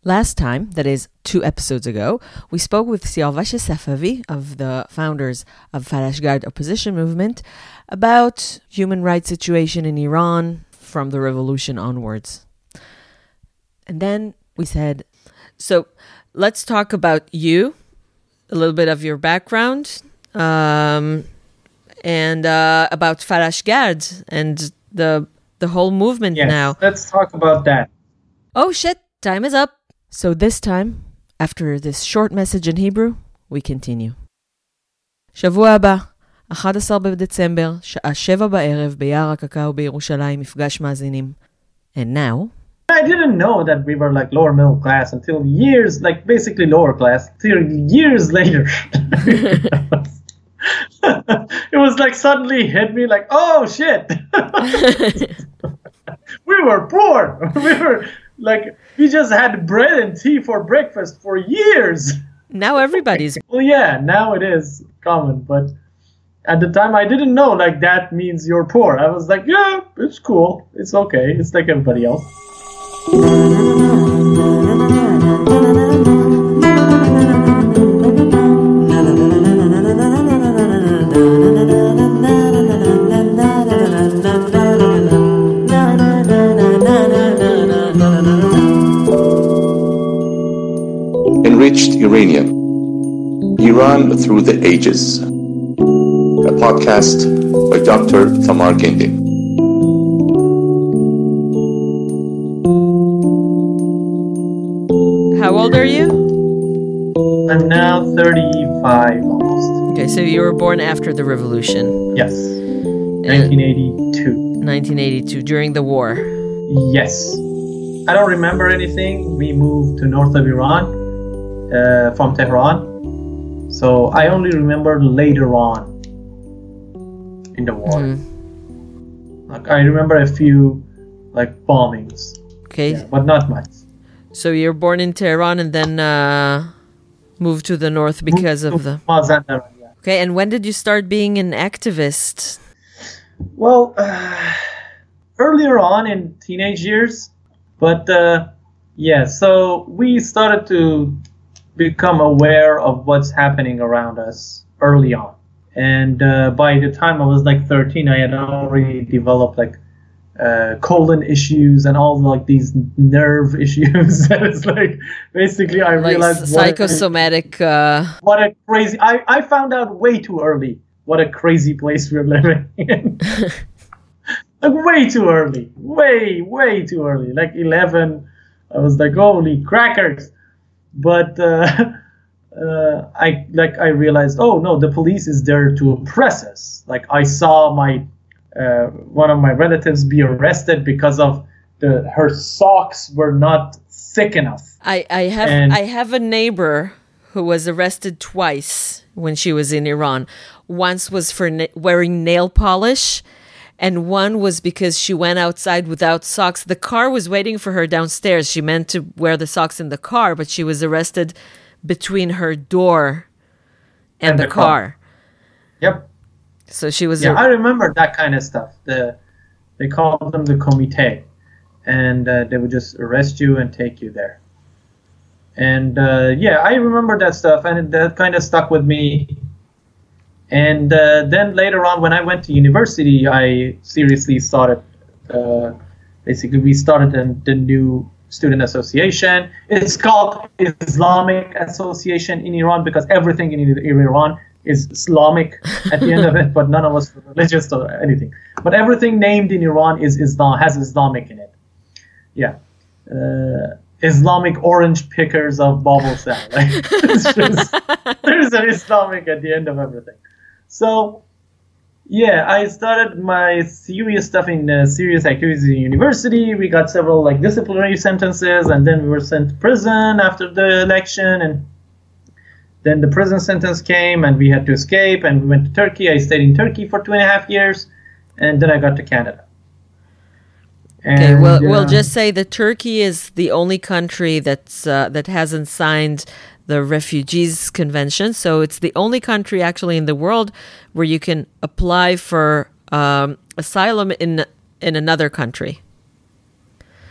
Last time, that is 2 episodes ago, we spoke with Siavash Safavi of the founders of Falash Guard opposition movement about human rights situation in Iran from the revolution onwards. And then we said, so let's talk about you, a little bit of your background, and about Falash Guard and the whole movement now. Let's talk about that. Oh shit, time is up. So this time, after this short message in Hebrew, we continue. שבוע הבא, 11 בדצמבר, שעה 7 בערב, ביער הקקאו בירושלים, מפגש מאזינים. And now... I didn't know that we were like lower middle class until years, like basically lower class, till years later. It was like suddenly hit me like, oh shit. We were poor. We just had bread and tea for breakfast for years. Now everybody's... Well, yeah, now it is common, but at the time I didn't know like that means you're poor. I was like, yeah, it's cool. It's okay. It's like everybody else. Enriched Uranium, Iran Through the Ages, a podcast by Dr. Tamar Gindin. How old are you? I'm now 35 almost. Okay, so you were born after the revolution. Yes, 1982. 1982, during the war. Yes. I don't remember anything. We moved to north of Iran from Tehran. So I only remember later on in the war. Like I remember a few like bombings. Okay. But not much. So you're born in Tehran and then moved to the north because of the... Mazandaran, yeah. Okay, and when did you start being an activist? Well, earlier on in teenage years. But so we started to become aware of what's happening around us early on. And by the time I was like 13, I had already developed like colon issues and all like these nerve issues. It's like basically I realized psychosomatic. What a crazy! I found out way too early what a crazy place we're living in. Like way too early, way too early. Like 11, I was like, holy crackers! But I realized, oh no, the police is there to oppress us. Like I saw my one of my relatives be arrested because of her socks were not thick enough. I have a neighbor who was arrested twice when she was in Iran. Once was for wearing nail polish. And one was because she went outside without socks. The car was waiting for her downstairs. She meant to wear the socks in the car, but she was arrested between her door and the car. Yep. So she was... Yeah, I remember that kind of stuff. They called them the comité. And they would just arrest you and take you there. And I remember that stuff. And that kind of stuck with me. And then later on, when I went to university, I seriously started, basically we started the new student association. It's called Islamic Association in Iran because everything in Iran is Islamic at the end of it, but none of us are religious or anything. But everything named in Iran is Islam, has Islamic in it. Yeah. Islamic orange pickers of Babel Cell. Like, there's an Islamic at the end of everything. So, I started my serious stuff in serious activities in university. We got several like disciplinary sentences, and then we were sent to prison after the election. And then the prison sentence came, and we had to escape. And we went to Turkey. I stayed in Turkey for 2.5 years, and then I got to Canada. And, okay, we'll just say that Turkey is the only country that hasn't signed the Refugees Convention. So it's the only country actually in the world where you can apply for asylum in another country.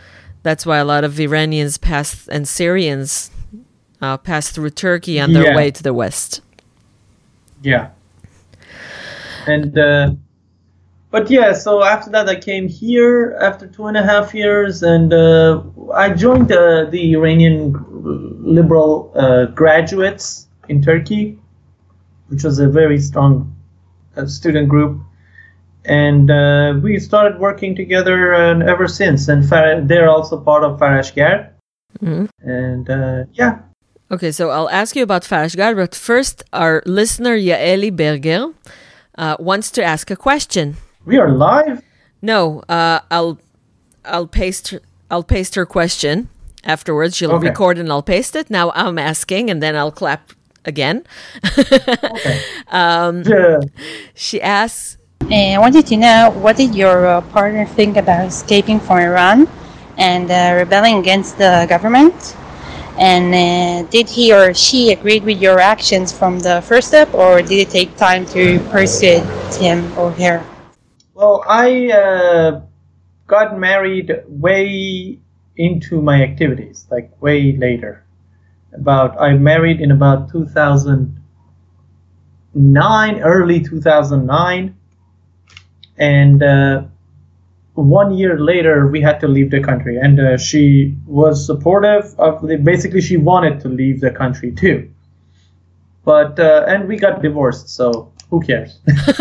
That's why a lot of Iranians and Syrians pass through Turkey on their way to the west. Yeah. And but yeah, so after that I came here after 2.5 years, and I joined the Iranian liberal graduates in Turkey, which was a very strong student group. And we started working together, and ever since. And they're also part of Farashgard. Mm-hmm. And yeah. Okay, so I'll ask you about Farashgard, but first, our listener Yaeli Berger wants to ask a question. We are live? No, I'll paste her question afterwards. She'll record and I'll paste it. Now I'm asking, and then I'll clap again. Okay. She asks, I wanted to know, what did your partner think about escaping from Iran and rebelling against the government? And did he or she agree with your actions from the first step, or did it take time to persuade him or her? Well, I got married way into my activities, like way later. I married in about 2009, early 2009. And 1 year later, we had to leave the country. And she was supportive of basically, she wanted to leave the country too. But, and we got divorced, so who cares?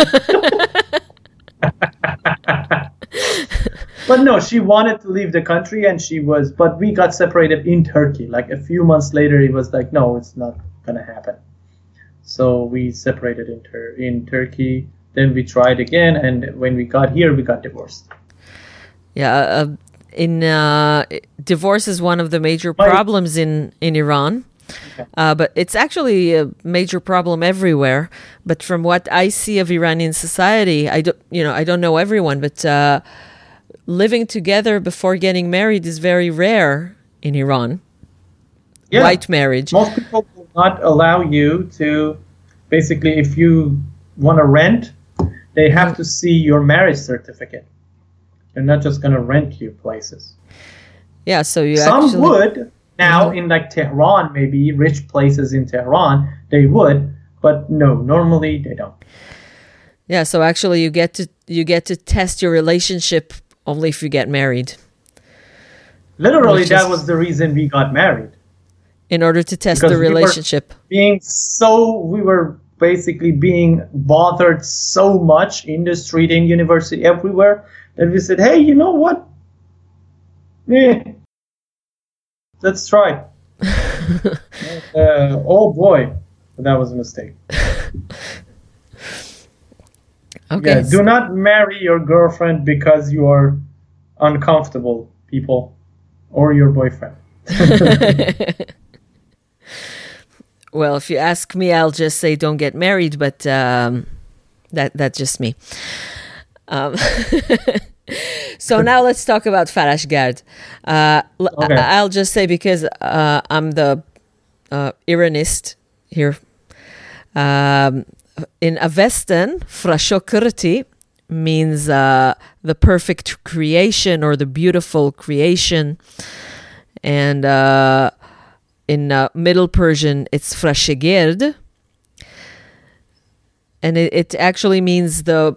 But no, she wanted to leave the country, and but we got separated in Turkey. Like a few months later, it was like, no, it's not going to happen. So we separated in Turkey. Then we tried again, and when we got here, we got divorced. Yeah, divorce is one of the major problems in Iran. Okay. But it's actually a major problem everywhere. But from what I see of Iranian society, I don't know everyone, but living together before getting married is very rare in Iran. Yeah. White marriage. Most people will not allow you to, basically, if you want to rent, they have to see your marriage certificate. They're not just going to rent you places. Yeah, so Some would. Now, in like Tehran, maybe rich places in Tehran, they would. But no, normally they don't. Yeah, so actually you get to test your relationship only if you get married. Literally, that was the reason we got married. In order to test the relationship. We were basically being bothered so much in the street, in university, everywhere, that we said, hey, you know what? Let's try. Oh boy, that was a mistake. Okay. Yeah, do not marry your girlfriend because you are uncomfortable, people, or your boyfriend. Well, if you ask me, I'll just say don't get married, but that's just me. So now let's talk about Farashgard. Okay. I'll just say, because I'm the Iranist here. In Avestan, Frashokurti means the perfect creation or the beautiful creation. And in Middle Persian, it's Frashegerd. And it actually means the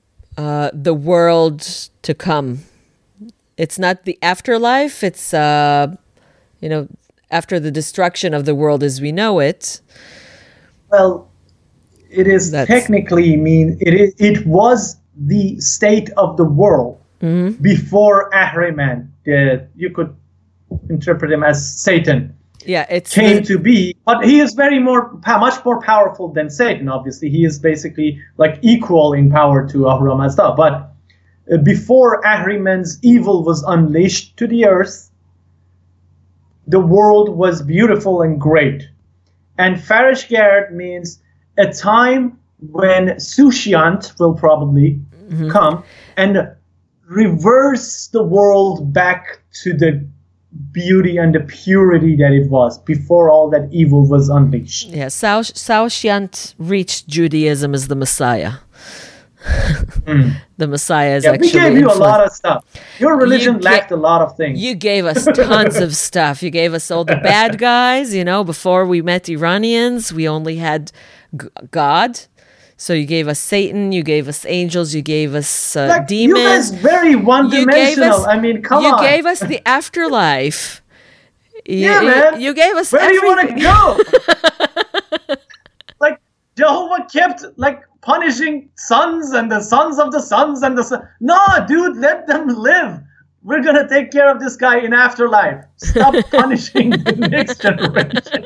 world to come. It's not the afterlife. It's, after the destruction of the world as we know it. Well, it is technically it was the state of the world before Ahriman. You could interpret him as Satan. Yeah, came to be, but he is much more powerful than Satan. Obviously, he is basically like equal in power to Ahura Mazda. But before Ahriman's evil was unleashed to the earth, the world was beautiful and great. And Farashgard means a time when Sushant will probably come and reverse the world back to the beauty and the purity that it was before all that evil was unleashed. Yeah, Saoshyant reached Judaism as the Messiah. The Messiah is Yeah, actually we gave you a influenced. lot of stuff. Your religion You lacked a lot of things. You gave us tons of stuff. You gave us all the bad guys. Before we met Iranians, we only had God. So you gave us Satan, you gave us angels, you gave us demons. You guys very one-dimensional. I mean, come on. You gave us the afterlife. Yeah, man. You gave us Where do you want everything. to go? Like, Jehovah kept, punishing sons and the sons of the sons and the sons. No, dude, let them live. We're going to take care of this guy in afterlife. Stop punishing the next generation.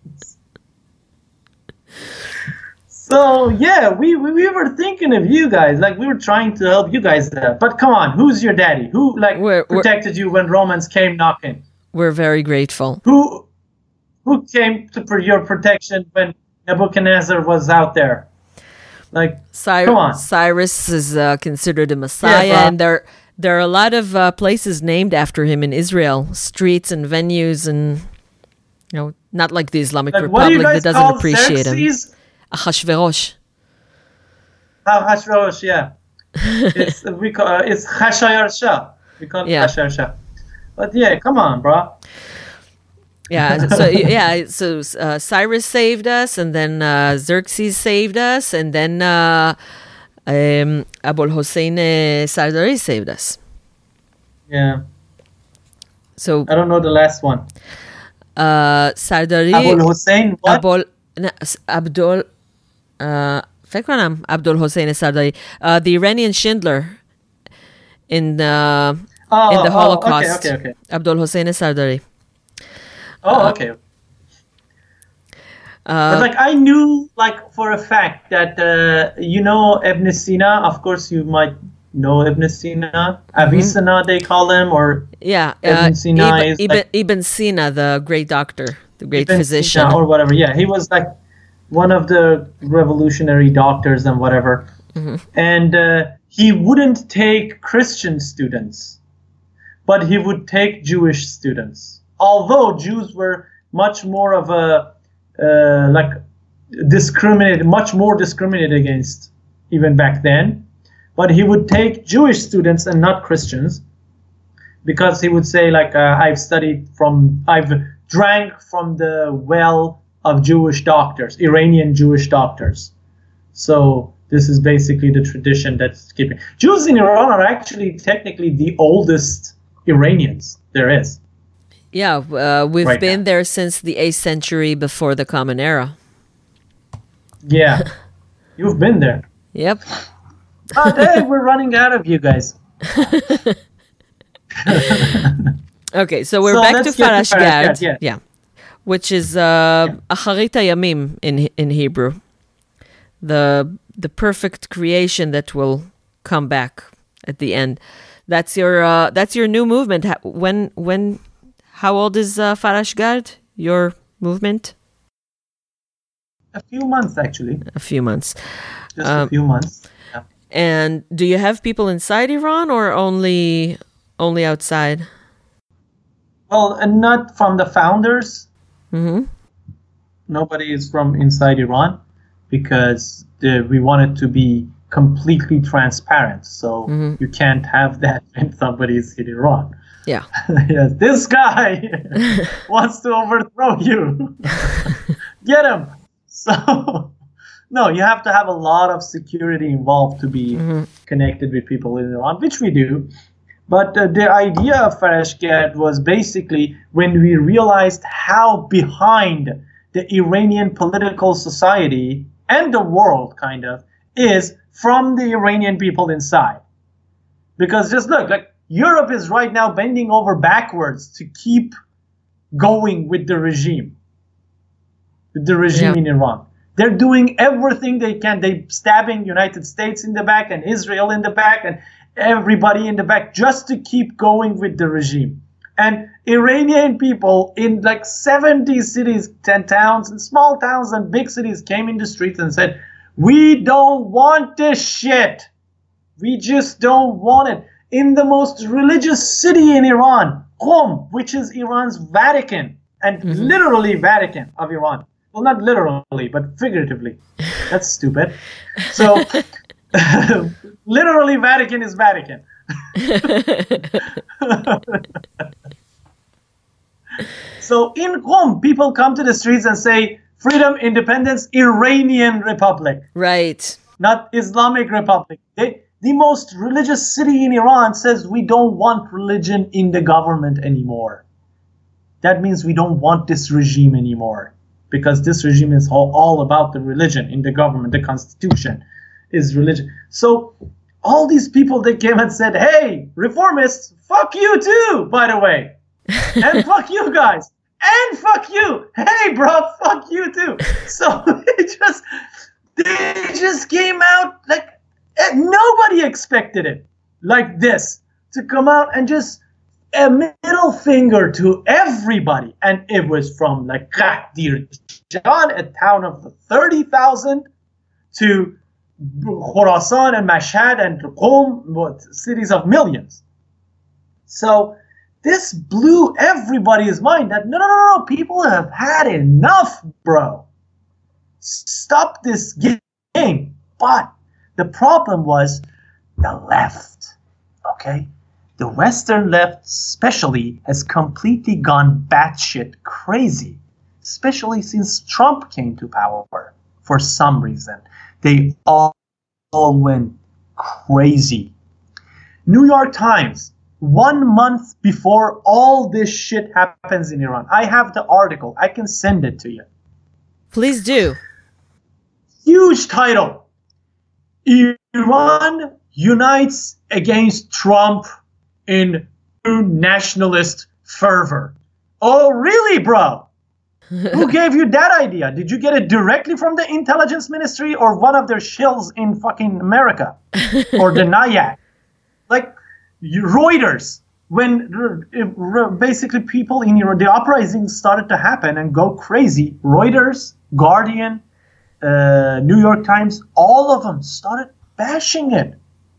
So, yeah, we were thinking of you guys. We were trying to help you guys out. But come on, who's your daddy? Who, protected you when Romans came knocking? We're very grateful. Who came for your protection when Nebuchadnezzar was out there? Come on. Cyrus is considered a messiah, Yeah, and there are a lot of places named after him in Israel, streets and venues, and not like the Islamic what do you Republic guys that doesn't call appreciate him. Xerxes? Achashverosh. Hashverosh, yeah. It's Chashayar Shah. We call it Yeah. Chashayar Shah. But yeah, come on, bro. Yeah, so Cyrus saved us, and then Xerxes saved us, and then Abul Hossein Sardari saved us. Yeah. So I don't know the last one. Sardari Abul Hussein, what? Abdul فکر کنم Abdul Hossein Sardari, the Iranian Schindler in the Holocaust. Okay. Abdul Hossein Sardari. Okay. But I knew for a fact that Ibn Sina. Of course, you might know Ibn Sina. Avicenna, they call him, or Ibn Sina is Ibn Sina, the great doctor, the great Ibn physician, Sina or whatever. Yeah, he was one of the revolutionary doctors and whatever. And he wouldn't take Christian students, but he would take Jewish students. Although Jews were much more of a much more discriminated against even back then, but he would take Jewish students and not Christians, because he would say I've drank from the well of Jewish doctors, Iranian Jewish doctors. So this is basically the tradition that's keeping. Jews in Iran are actually technically the oldest Iranians there is. Yeah, we've Right been now. there since the 8th century before the Common Era. Yeah, you've been there. Yep. Hey, we're running out of you guys. Okay, so we're So back to let's get to Farash Farash Gad. Gad, yeah. Which is Acharit Hayamim in Hebrew. The perfect creation that will come back at the end. That's your new movement. How old is Farash Gad, your movement? A few months, actually. A few months. Just a few months. Yeah. And do you have people inside Iran or only outside? Well, and not from the founders. Mm-hmm. Nobody is from inside Iran, because we want it to be completely transparent. So you can't have that when somebody is in Iran. Yeah. Yes, this guy wants to overthrow you. Get him. So, no, you have to have a lot of security involved to be connected with people in Iran, which we do. But the idea of Farash Gad was basically when we realized how behind the Iranian political society and the world kind of is from the Iranian people inside. Because just look, Europe is right now bending over backwards to keep going with the regime. In Iran. They're doing everything they can. They're stabbing United States in the back and Israel in the back and everybody in the back just to keep going with the regime. And Iranian people in 70 cities, 10 towns, and small towns and big cities came in the streets and said, we don't want this shit. We just don't want it. In the most religious city in Iran, Qom, which is Iran's Vatican, and literally Vatican of Iran. Well, not literally, but figuratively. That's stupid. So Literally, Vatican is Vatican. So in Qom, people come to the streets and say, freedom, independence, Iranian Republic. Right. Not Islamic Republic. The most religious city in Iran says we don't want religion in the government anymore. That means we don't want this regime anymore. Because this regime is all about the religion in the government. The constitution is religion. So all these people that came and said, hey, reformists, fuck you too, by the way. And fuck you guys. And fuck you. Hey, bro, fuck you too. So they just came out like nobody expected it like this to come out and just a middle finger to everybody. And it was from like Qadir Jan, a town of 30,000, to Khorasan and Mashhad and Qom, cities of millions. So this blew everybody's mind that no, people have had enough, bro. Stop this game. But the problem was the left, okay? The Western left especially has completely gone batshit crazy, especially since Trump came to power for some reason. They all went crazy. New York Times, 1 month before all this shit happens in Iran. I have the article. I can send it to you. Please do. Huge title. Iran unites against Trump in nationalist fervor. Oh, really, bro? Who gave you that idea? Did you get it directly from the intelligence ministry or one of their shills in fucking America? Or the NIAC? Like, Reuters. When basically people in Iran, the uprisings started to happen and go crazy, Reuters, Guardian, New York Times, all of them started bashing it.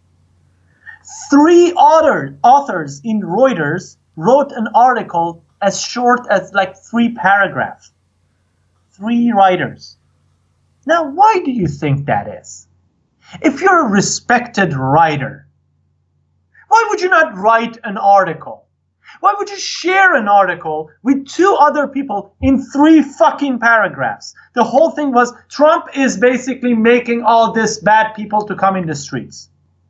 3 authors in Reuters wrote an article as short as like 3 paragraphs. 3 writers. Now, why do you think that is? If you're a respected writer, why would you not write an article? Why would you share an article with 2 other people in 3 fucking paragraphs? The whole thing was Trump is basically making all this bad people to come in the streets.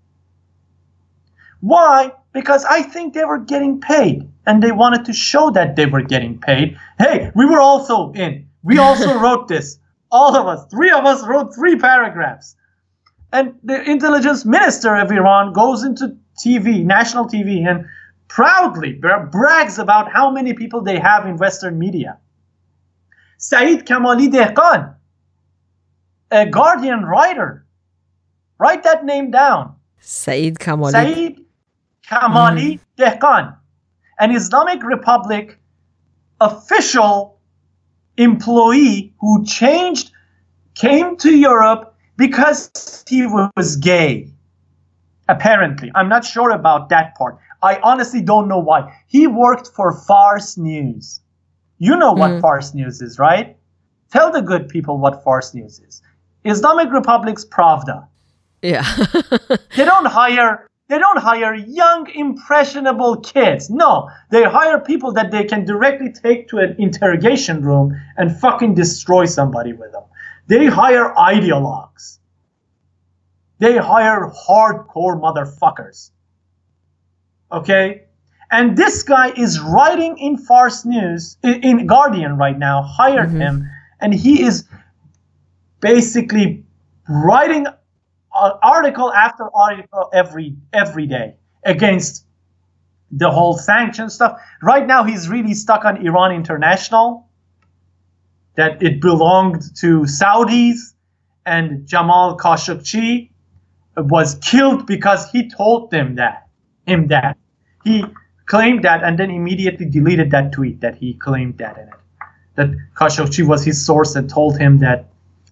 Why? Because I think they were getting paid and they wanted to show that they were getting paid. Hey, we were also in. We also wrote this. All of us, 3 of us wrote 3 paragraphs. And the intelligence minister of Iran goes into TV, national TV, and proudly brags about how many people they have in Western media. Saeed Kamali Dehqan, a Guardian writer. Write that name down. Saeed Kamali. Saeed Kamali Dehqan, an Islamic Republic official employee who came to Europe because he was gay. Apparently. I'm not sure about that part. I honestly don't know why. He worked for Fars News. You know what Fars News is, right? Tell the good people what Fars News is. Islamic Republic's Pravda. Yeah. They don't hire young, impressionable kids. No, they hire people that they can directly take to an interrogation room and fucking destroy somebody with them. They hire ideologues. They hire hardcore motherfuckers. Okay? And this guy is writing in Fars News, in Guardian right now, hired him, and he is basically writing article after article every day against the whole sanction stuff. Right now, he's really stuck on Iran International, that it belonged to Saudis, and Jamal Khashoggi was killed because he told him that. He claimed that and then immediately deleted that tweet that he claimed that in it. That Khashoggi was his source and told him that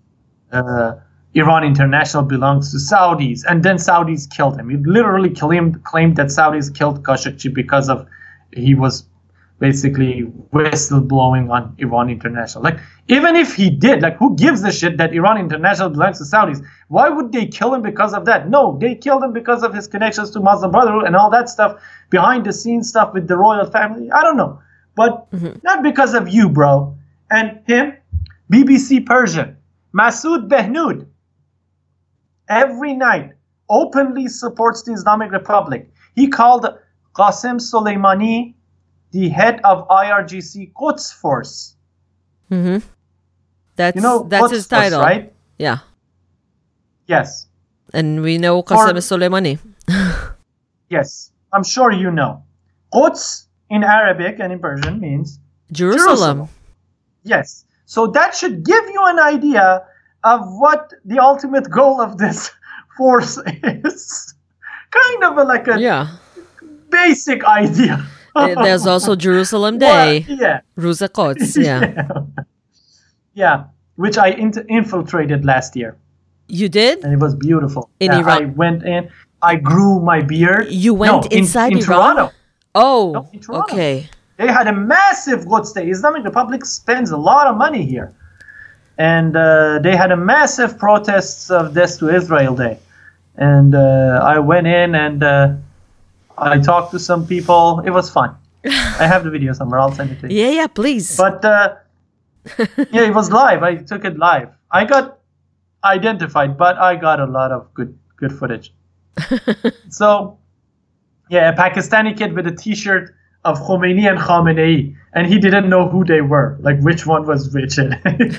Iran International belongs to Saudis, and then Saudis killed him. He literally claimed that Saudis killed Khashoggi because of he was basically whistleblowing on Iran International. Like, even if he did, like, who gives a shit that Iran International belongs to Saudis? Why would they kill him because of that? No, they killed him because of his connections to Muslim Brotherhood and all that stuff, behind the scenes stuff with the royal family. I don't know. But not because of you, bro. And him, BBC Persian, Masoud Behnoud, every night openly supports the Islamic Republic. He called Qasem Soleimani the head of IRGC Quds Force. Mm-hmm. That's Quds his title, Force, right? Yeah. Yes. And we know Qasem Soleimani. Yes, I'm sure you know. Quds in Arabic and in Persian means Jerusalem. Yes. So that should give you an idea of what the ultimate goal of this force is. Kind of like a basic idea. There's also Jerusalem Day. Well, yeah. Ruza Quds, yeah. Yeah, which I infiltrated last year. You did? And it was beautiful. In Iran? I went in, I grew my beard. You went inside in Iran? Toronto. Oh, No, in Toronto. okay. They had a massive Quds Day. Islamic Republic spends a lot of money here. And they had a massive protests of Death to Israel Day. And I went in and I talked to some people. It was fun. I have the video somewhere. I'll send it to you. Yeah, please. But yeah, it was live. I took it live. I got identified, but I got a lot of good footage. So, yeah, a Pakistani kid with a T-shirt of Khomeini and Khamenei, and he didn't know who they were, like which one was which. And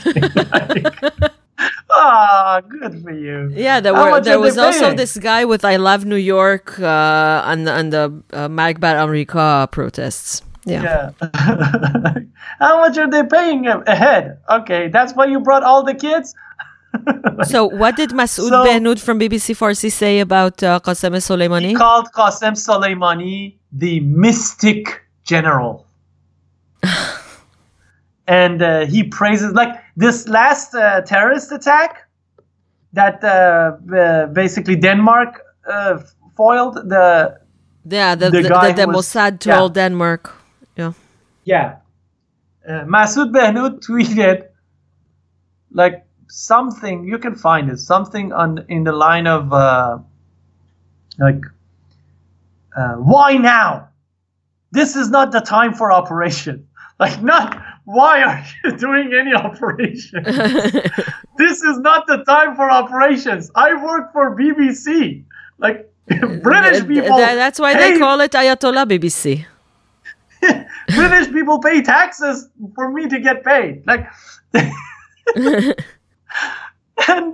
good for you. Yeah, there was also this guy with "I Love New York" on the Magbat Amrika protests. Yeah. How much are they paying a head? Okay, that's why you brought all the kids. So what did Masoud Behnoud from BBC Farsi say about Qasem Soleimani? He called Qasem Soleimani the mystic general. And he praises, like, this last terrorist attack that basically Denmark foiled. The Mossad told Denmark. Yeah. Masoud Behnoud tweeted, like, something, you can find it, something in the line of why now? This is not the time for operation. Like, not why are you doing any operation? This is not the time for operations. I work for BBC. Like, British people. That's why they call it Ayatollah BBC. British people pay taxes for me to get paid. Like, and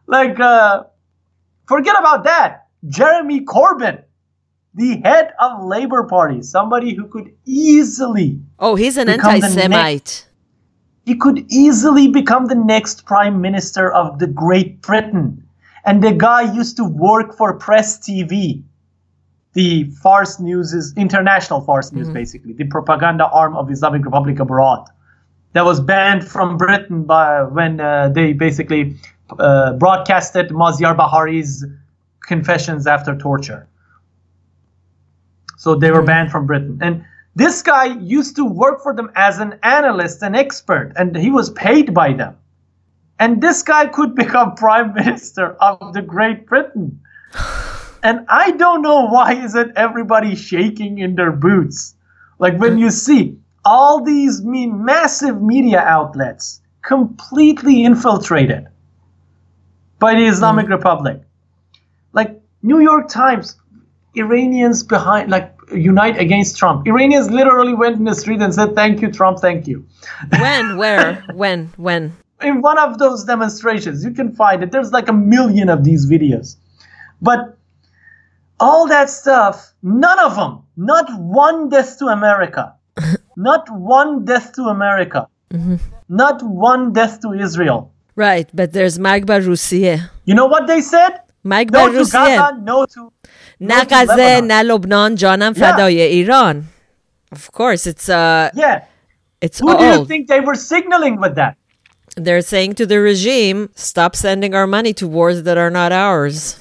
forget about that. Jeremy Corbyn, the head of Labour Party, somebody who could easily he's an anti-Semite. He could easily become the next Prime Minister of the Great Britain. And the guy used to work for Press TV, the Fars News is international Fars News, basically, the propaganda arm of Islamic Republic abroad. That was banned from Britain when they basically broadcasted Maziar Bahari's confessions after torture. So they were banned from Britain. And this guy used to work for them as an analyst, an expert, and he was paid by them. And this guy could become Prime Minister of the Great Britain. And I don't know why isn't everybody shaking in their boots. Like, when you see all these massive media outlets completely infiltrated by the Islamic Republic. Like, New York Times, Iranians behind, like, unite against Trump. Iranians literally went in the street and said, "Thank you, Trump, thank you." When? Where? When? In one of those demonstrations. You can find it. There's like 1 million of these videos. But all that stuff, none of them, not one death to America. Not one death to America. Not one death to Israel. Right, but there's Magba Rusiye. You know what they said? Magba No to Rusiye. Gaza, no to Na Gaza, na Lebanon, Janam Fadaye, Iran. Of course, it's it's Who do you think they were signaling with that? They're saying to the regime, stop sending our money to wars that are not ours.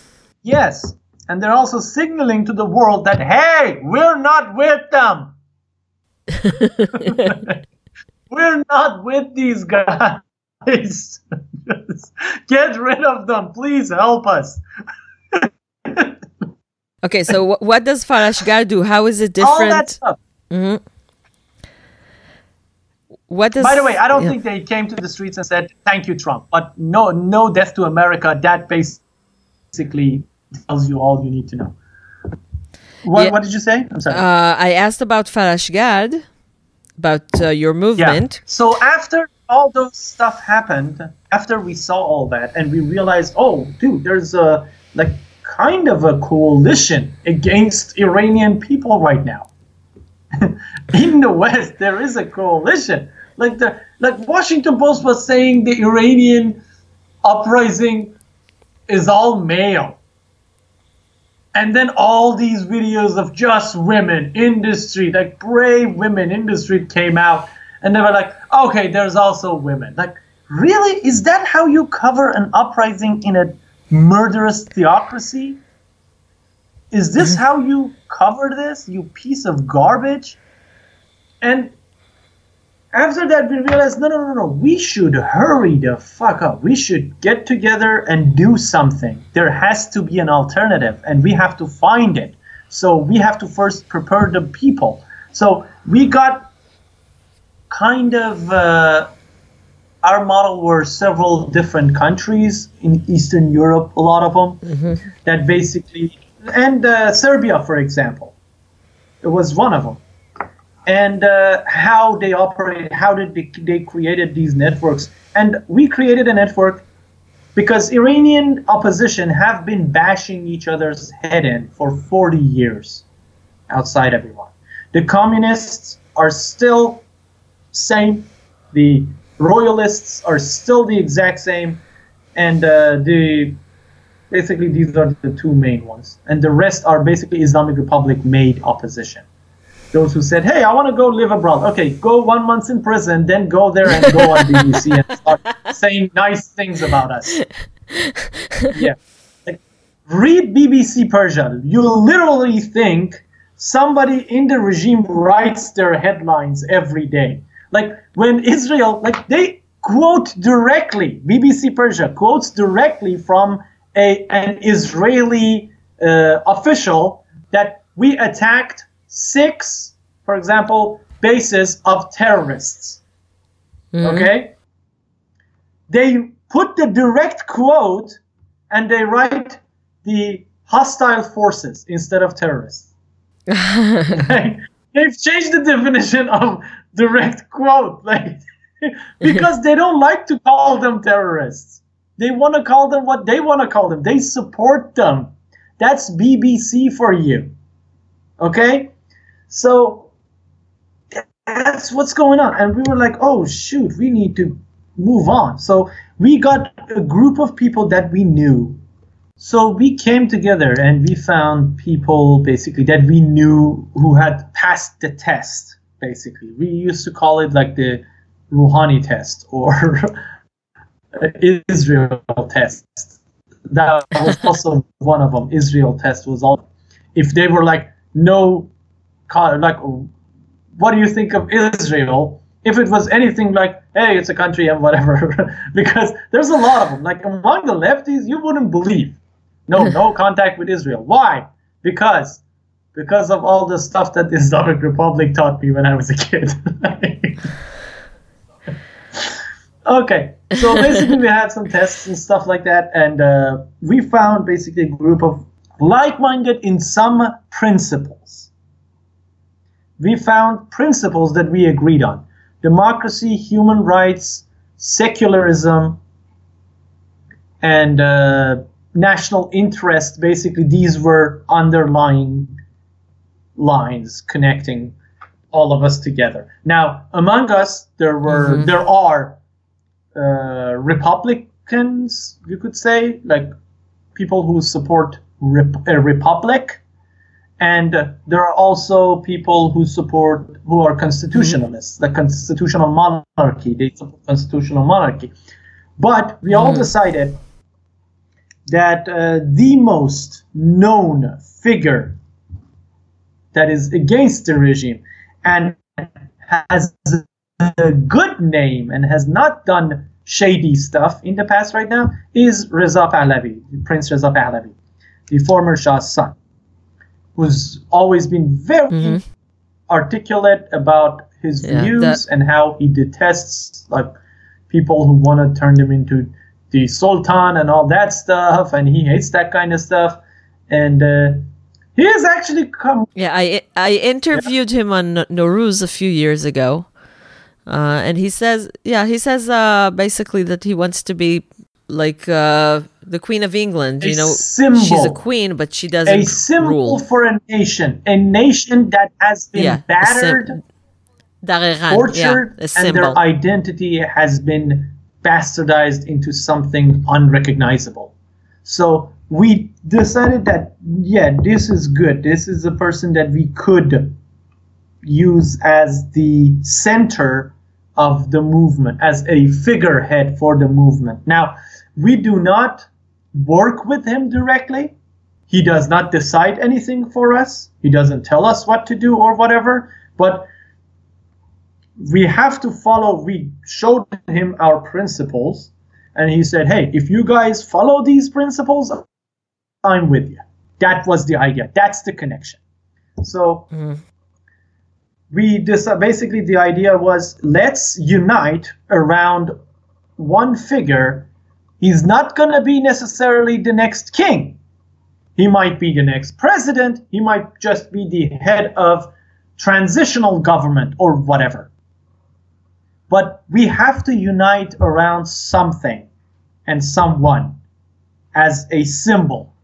Yes. And they're also signaling to the world that, hey, we're not with them. We're not with these guys. Just get rid of them. Please help us. Okay, so what does Farashgad do? How is it different? All that stuff. Mm-hmm. What does? By the way, I don't think they came to the streets and said, "Thank you, Trump." But no death to America. That basically tells you all you need to know. What did you say? I'm sorry. I asked about Farashgad, about your movement. Yeah. So after all those stuff happened, after we saw all that, and we realized, oh, dude, there's a kind of a coalition against Iranian people right now. In the West, there is a coalition. Like Washington Post was saying, the Iranian uprising is all male. And then all these videos of just women in the street, like brave women in the street, came out, and they were like, okay, there's also women. Like, really? Is that how you cover an uprising in a murderous theocracy? Is this how you cover this, you piece of garbage? And after that, we realized, no. We should hurry the fuck up. We should get together and do something. There has to be an alternative, and we have to find it. So we have to first prepare the people. So we got kind of, our model were several different countries in Eastern Europe, a lot of them, that basically, and Serbia, for example, it was one of them. And how they operate, how did they created these networks. And we created a network because Iranian opposition have been bashing each other's head in for 40 years outside of Iran. The communists are still same. The royalists are still the exact same. And basically these are the two main ones. And the rest are basically Islamic Republic made opposition. Those who said, hey, I want to go live abroad. Okay, go 1 month in prison, then go there and go on BBC and start saying nice things about us. Yeah. Like, read BBC Persia. You'll literally think somebody in the regime writes their headlines every day. Like, when Israel, they quote directly, BBC Persia quotes directly from an Israeli official that we attacked 6, for example, bases of terrorists. Okay? They put the direct quote and they write the hostile forces instead of terrorists. They've changed the definition of direct quote, because they don't like to call them terrorists. They want to call them what they want to call them. They support them. That's BBC for you. Okay? So that's what's going on. And we were like, oh, shoot, we need to move on. So we got a group of people that we knew. So we came together and we found people basically that we knew who had passed the test, basically. We used to call it like the Rouhani test or Israel test. That was also one of them. Israel test was all. If they were what do you think of Israel? If it was anything like, hey, it's a country and whatever, because there's a lot of them. Like among the lefties, you wouldn't believe. No contact with Israel. Why? Because of all the stuff that the Islamic Republic taught me when I was a kid. Okay, so basically we had some tests and stuff like that, and we found basically a group of like-minded in some principles. We found principles that we agreed on. Democracy, human rights, secularism, and national interest. Basically, these were underlying lines connecting all of us together. Now, among us, there are Republicans, you could say, like people who support a republic. And there are also people who are constitutionalists, the constitutional monarchy. They support constitutional monarchy. But we all decided that the most known figure that is against the regime and has a good name and has not done shady stuff in the past right now is Reza Pahlavi, Prince Reza Pahlavi, the former Shah's son, who's always been very articulate about his views and how he detests like people who want to turn him into the Sultan and all that stuff, and he hates that kind of stuff. And he has actually come. Yeah, I interviewed him on Nowruz a few years ago, and he says basically that he wants to be like the Queen of England. Symbol, she's a queen, but she doesn't a symbol rule. For a nation that has been battered, tortured, and their identity has been bastardized into something unrecognizable. So we decided that, this is good. This is a person that we could use as the center of the movement, as a figurehead for the movement. Now, we do not work with him directly. He does not decide anything for us. He doesn't tell us what to do or whatever, but we have to follow. We showed him our principles, and he said, hey, if you guys follow these principles, I'm with you. That was the idea. That's the connection. So basically the idea was, let's unite around one figure. He's not going to be necessarily the next king. He might be the next president. He might just be the head of transitional government or whatever. But we have to unite around something and someone as a symbol,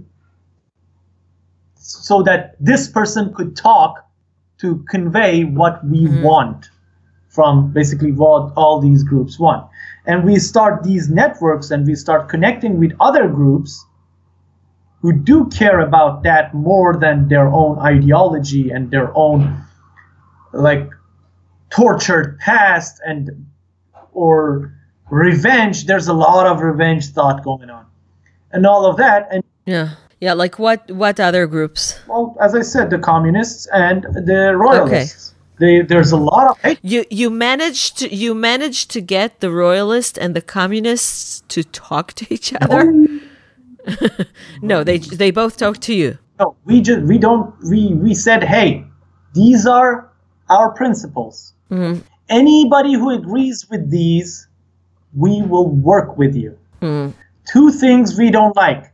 so that this person could talk to convey what we want from basically what all these groups want. And we start these networks and we start connecting with other groups who do care about that more than their own ideology and their own like tortured past or revenge. There's a lot of revenge thought going on and all of that. And like what other groups? Well, as I said, the communists and the royalists. There's a lot of hate. You managed to get the royalists and the communists to talk to each other? No, they both talk to you. No, we said, hey, these are our principles. Anybody who agrees with these, we will work with you. 2 things we don't like.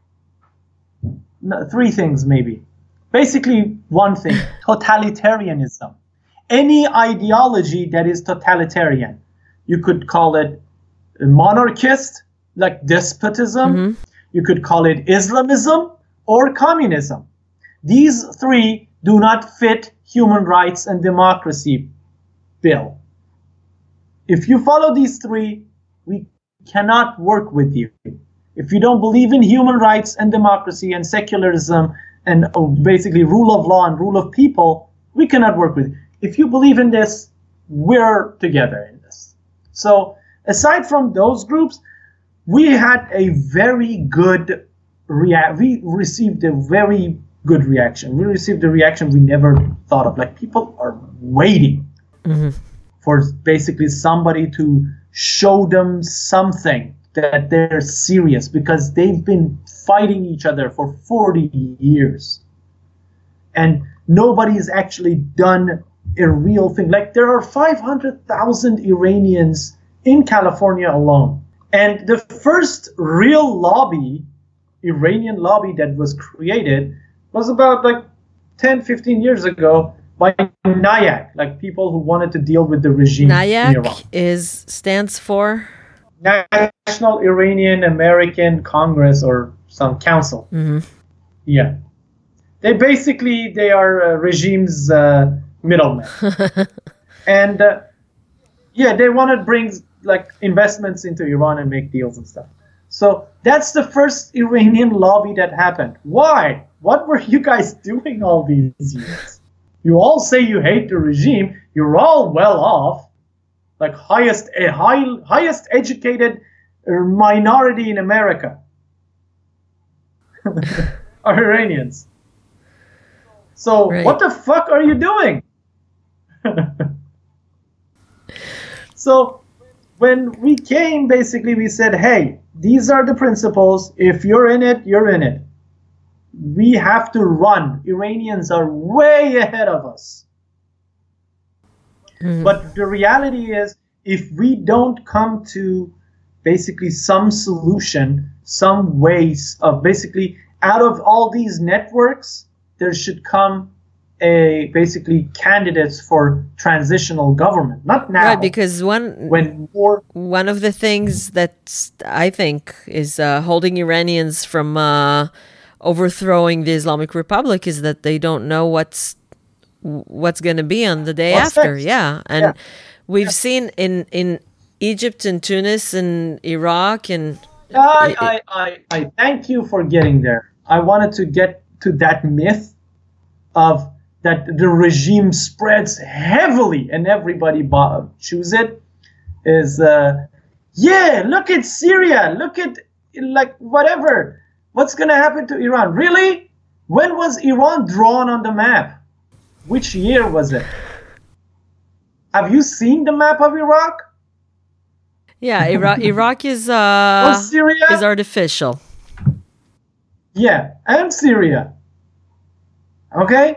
No, 3 things maybe. Basically, 1 thing, totalitarianism. Any ideology that is totalitarian. You could call it monarchist, like despotism. You could call it Islamism or communism. These 3 do not fit human rights and democracy bill. If you follow these 3, we cannot work with you. If you don't believe in human rights and democracy and secularism and basically rule of law and rule of people, we cannot work with you. If you believe in this, we're together in this. So aside from those groups, we had a very good we received a very good reaction. We received a reaction we never thought of. Like, people are waiting for basically somebody to show them something that they're serious, because they've been fighting each other for 40 years. And nobody's actually done a real thing. Like, there are 500,000 Iranians in California alone. And the first real lobby, Iranian lobby, that was created was about like 10, 15 years ago by NIAC, like people who wanted to deal with the regime in Iran. NIAC stands for? National Iranian American Congress or some council. Yeah. They are regime's middlemen. And they want to bring like investments into Iran and make deals and stuff. So that's the first Iranian lobby that happened. Why? What were you guys doing all these years? You all say you hate the regime. You're all well off, like highest educated minority in America are Iranians. So what the fuck are you doing? So when we came, basically we said, hey, these are the principles. If you're in it, you're in it. We have to run. Iranians are way ahead of us. But the reality is, if we don't come to basically some solution, some ways of basically out of all these networks, there should come basically candidates for transitional government. Not now. Right, because one of the things that I think is holding Iranians from overthrowing the Islamic Republic is that they don't know what's going to be on the day after. Next? Yeah, and we've seen in Egypt and Tunis and Iraq and. I thank you for getting there. I wanted to get to that myth of that the regime spreads heavily and everybody choose it. Is look at Syria, look at like whatever. What's going to happen to Iran? Really? When was Iran drawn on the map? Which year was it? Have you seen the map of Iraq? Yeah, Iraq is Syria is artificial. Yeah, and Syria. Okay?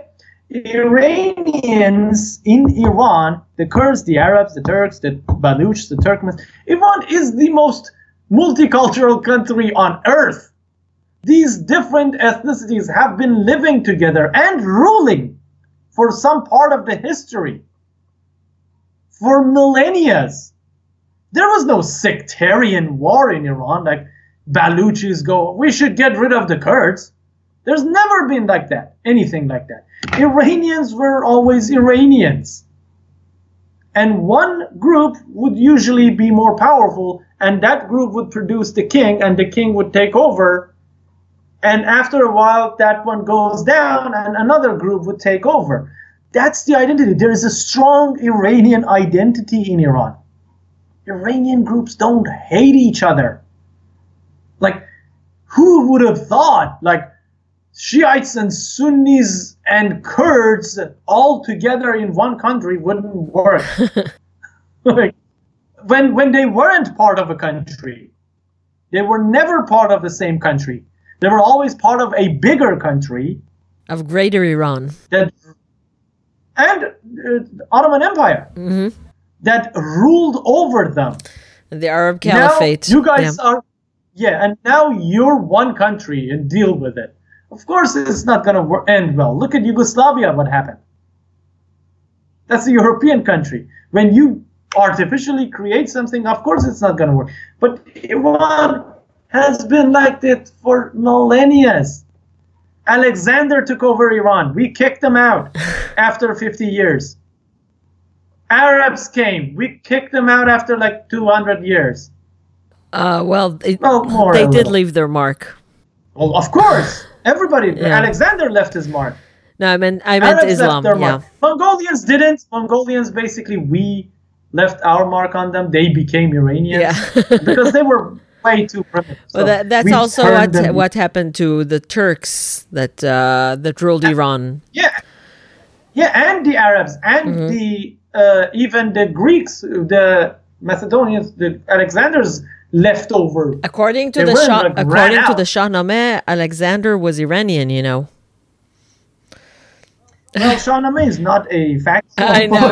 Iranians in Iran, the Kurds, the Arabs, the Turks, the Baluch, the Turkmens. Iran is the most multicultural country on earth. These different ethnicities have been living together and ruling for some part of the history for millennia. There was no sectarian war in Iran like Baluchis go, we should get rid of the Kurds. There's never been like that, anything like that. Iranians were always Iranians. And one group would usually be more powerful, and that group would produce the king, and the king would take over. And after a while, that one goes down, and another group would take over. That's the identity. There is a strong Iranian identity in Iran. Iranian groups don't hate each other. Like, who would have thought, like, Shiites and Sunnis and Kurds all together in one country wouldn't work? Like, when they weren't part of a country, they were never part of the same country. They were always part of a bigger country. Of Greater Iran. And Ottoman Empire. Mm-hmm. That ruled over them. The Arab Caliphate. Now you guys are... Yeah, and now you're one country and deal with it. Of course it's not going to end well. Look at Yugoslavia, what happened. That's a European country. When you artificially create something, of course it's not going to work. But Iran has been like that for millennia. Alexander took over Iran. We kicked them out after 50 years. Arabs came. We kicked them out after like 200 years. They did leave their mark. Well, of course. Everybody. Yeah. Alexander left his mark. No, I meant Arabs Islam. Left their yeah. Mark. Mongolians didn't. Mongolians, basically, we left our mark on them. They became Iranians. Yeah. Because they were way too primitive. So well, that's also what happened to the Turks that ruled Iran. Yeah. Yeah, and the Arabs, and the even the Greeks, the Macedonians, the Alexander's leftover. According to the Shahnameh, Alexander was Iranian, you know. Well, Shahnameh is not a fact. I know.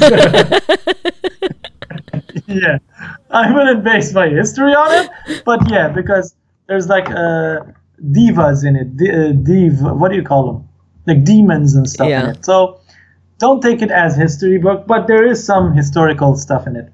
Yeah, I wouldn't base my history on it, but yeah, because there's like divas in it. What do you call them? Like demons and stuff in it. So don't take it as history book, but there is some historical stuff in it.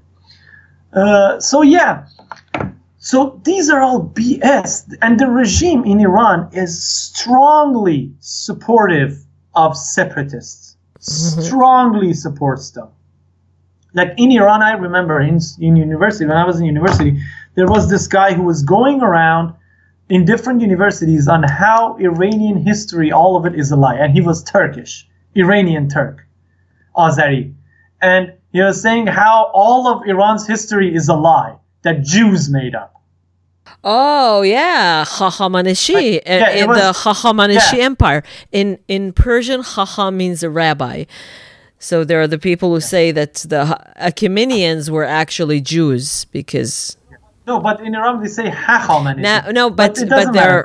So these are all BS, and the regime in Iran is strongly supportive of separatists. Strongly supports them. Like in Iran, I remember in university, when I was in university, there was this guy who was going around in different universities on how Iranian history, all of it is a lie. And he was Turkish, Iranian Turk, Azeri. And he was saying how all of Iran's history is a lie that Jews made up. Oh, yeah. Hahamaneshi, the Hahamaneshi Empire. In Persian, Haha means a rabbi. So there are the people who say that the Achaemenians were actually Jews because... No, but in Iran they say Hachamaneshi. But they're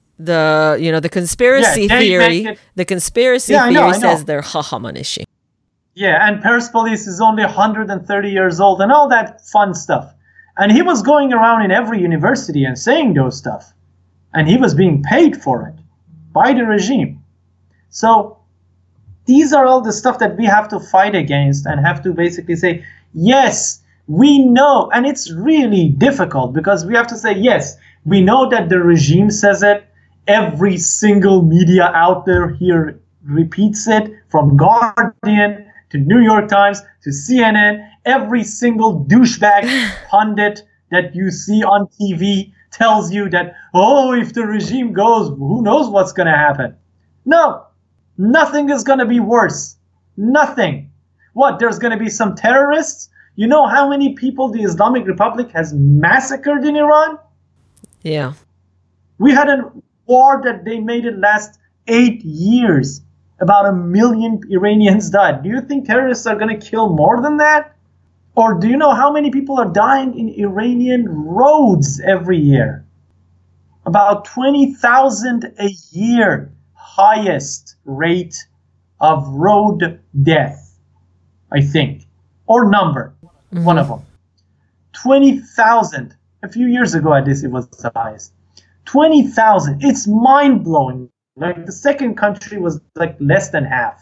the conspiracy theory. The conspiracy theory says they're Hachamaneshi. Yeah, and Persepolis is only 130 years old and all that fun stuff. And he was going around in every university and saying those stuff. And he was being paid for it by the regime. So these are all the stuff that we have to fight against and have to basically say, yes, we know. And it's really difficult because we have to say, yes, we know that the regime says it. Every single media out there here repeats it, from Guardian to New York Times to CNN. Every single douchebag pundit that you see on TV tells you that, oh, if the regime goes, who knows what's going to happen. No, nothing is going to be worse. Nothing. What, there's going to be some terrorists? You know how many people the Islamic Republic has massacred in Iran? Yeah. We had a war that they made it last 8 years. About 1 million Iranians died. Do you think terrorists are going to kill more than that? Or do you know how many people are dying in Iranian roads every year? About 20,000 a year. Highest rate of road death, I think. Or number. Mm-hmm. One of them. 20,000. A few years ago at this, it was the highest. 20,000. It's mind-blowing. Like the second country was like less than half.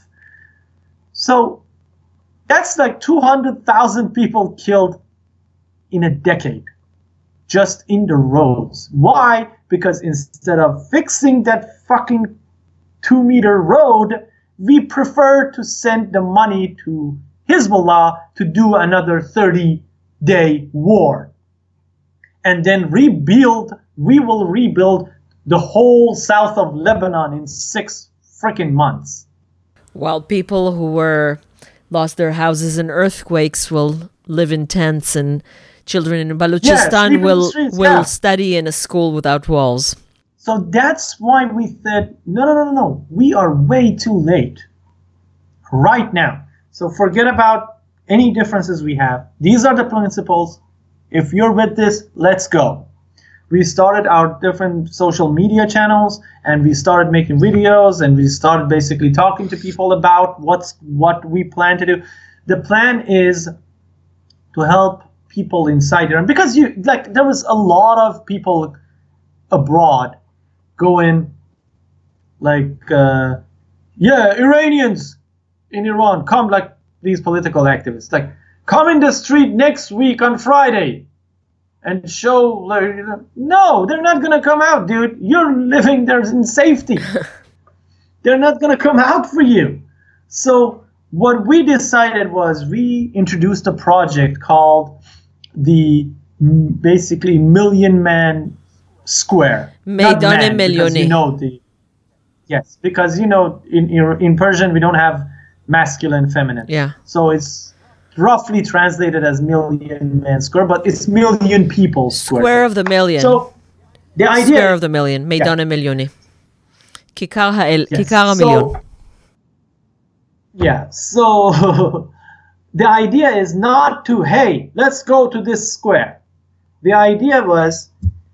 So that's like 200,000 people killed in a decade just in the roads. Why? Because instead of fixing that fucking 2-meter road, we prefer to send the money to Hezbollah to do another 30-day war. And then we will rebuild the whole south of Lebanon in 6 freaking months. While people who lost their houses in earthquakes will live in tents, and children in Balochistan will study in a school without walls. So that's why we said, no. We are way too late right now. So forget about any differences we have. These are the principles. If you're with this, let's go. We started our different social media channels, and we started making videos, and we started basically talking to people about what we plan to do. The plan is to help people inside Iran, because there was a lot of people abroad going Iranians in Iran, come, like these political activists, like, come in the street next week on Friday and show, no, they're not going to come out, dude. You're living there in safety. They're not going to come out for you. So what we decided was we introduced a project called the basically Million Man Square. Meidane Milyoni. Yes, because, in Persian we don't have masculine, feminine. Yeah. So it's roughly translated as Million Man Square, but it's Million People Square. Square of the Million. So the idea... Square of the Million. Meidane Milyoni. Kikar HaMilyon. Yeah, so the idea is not to, hey, let's go to this square. The idea was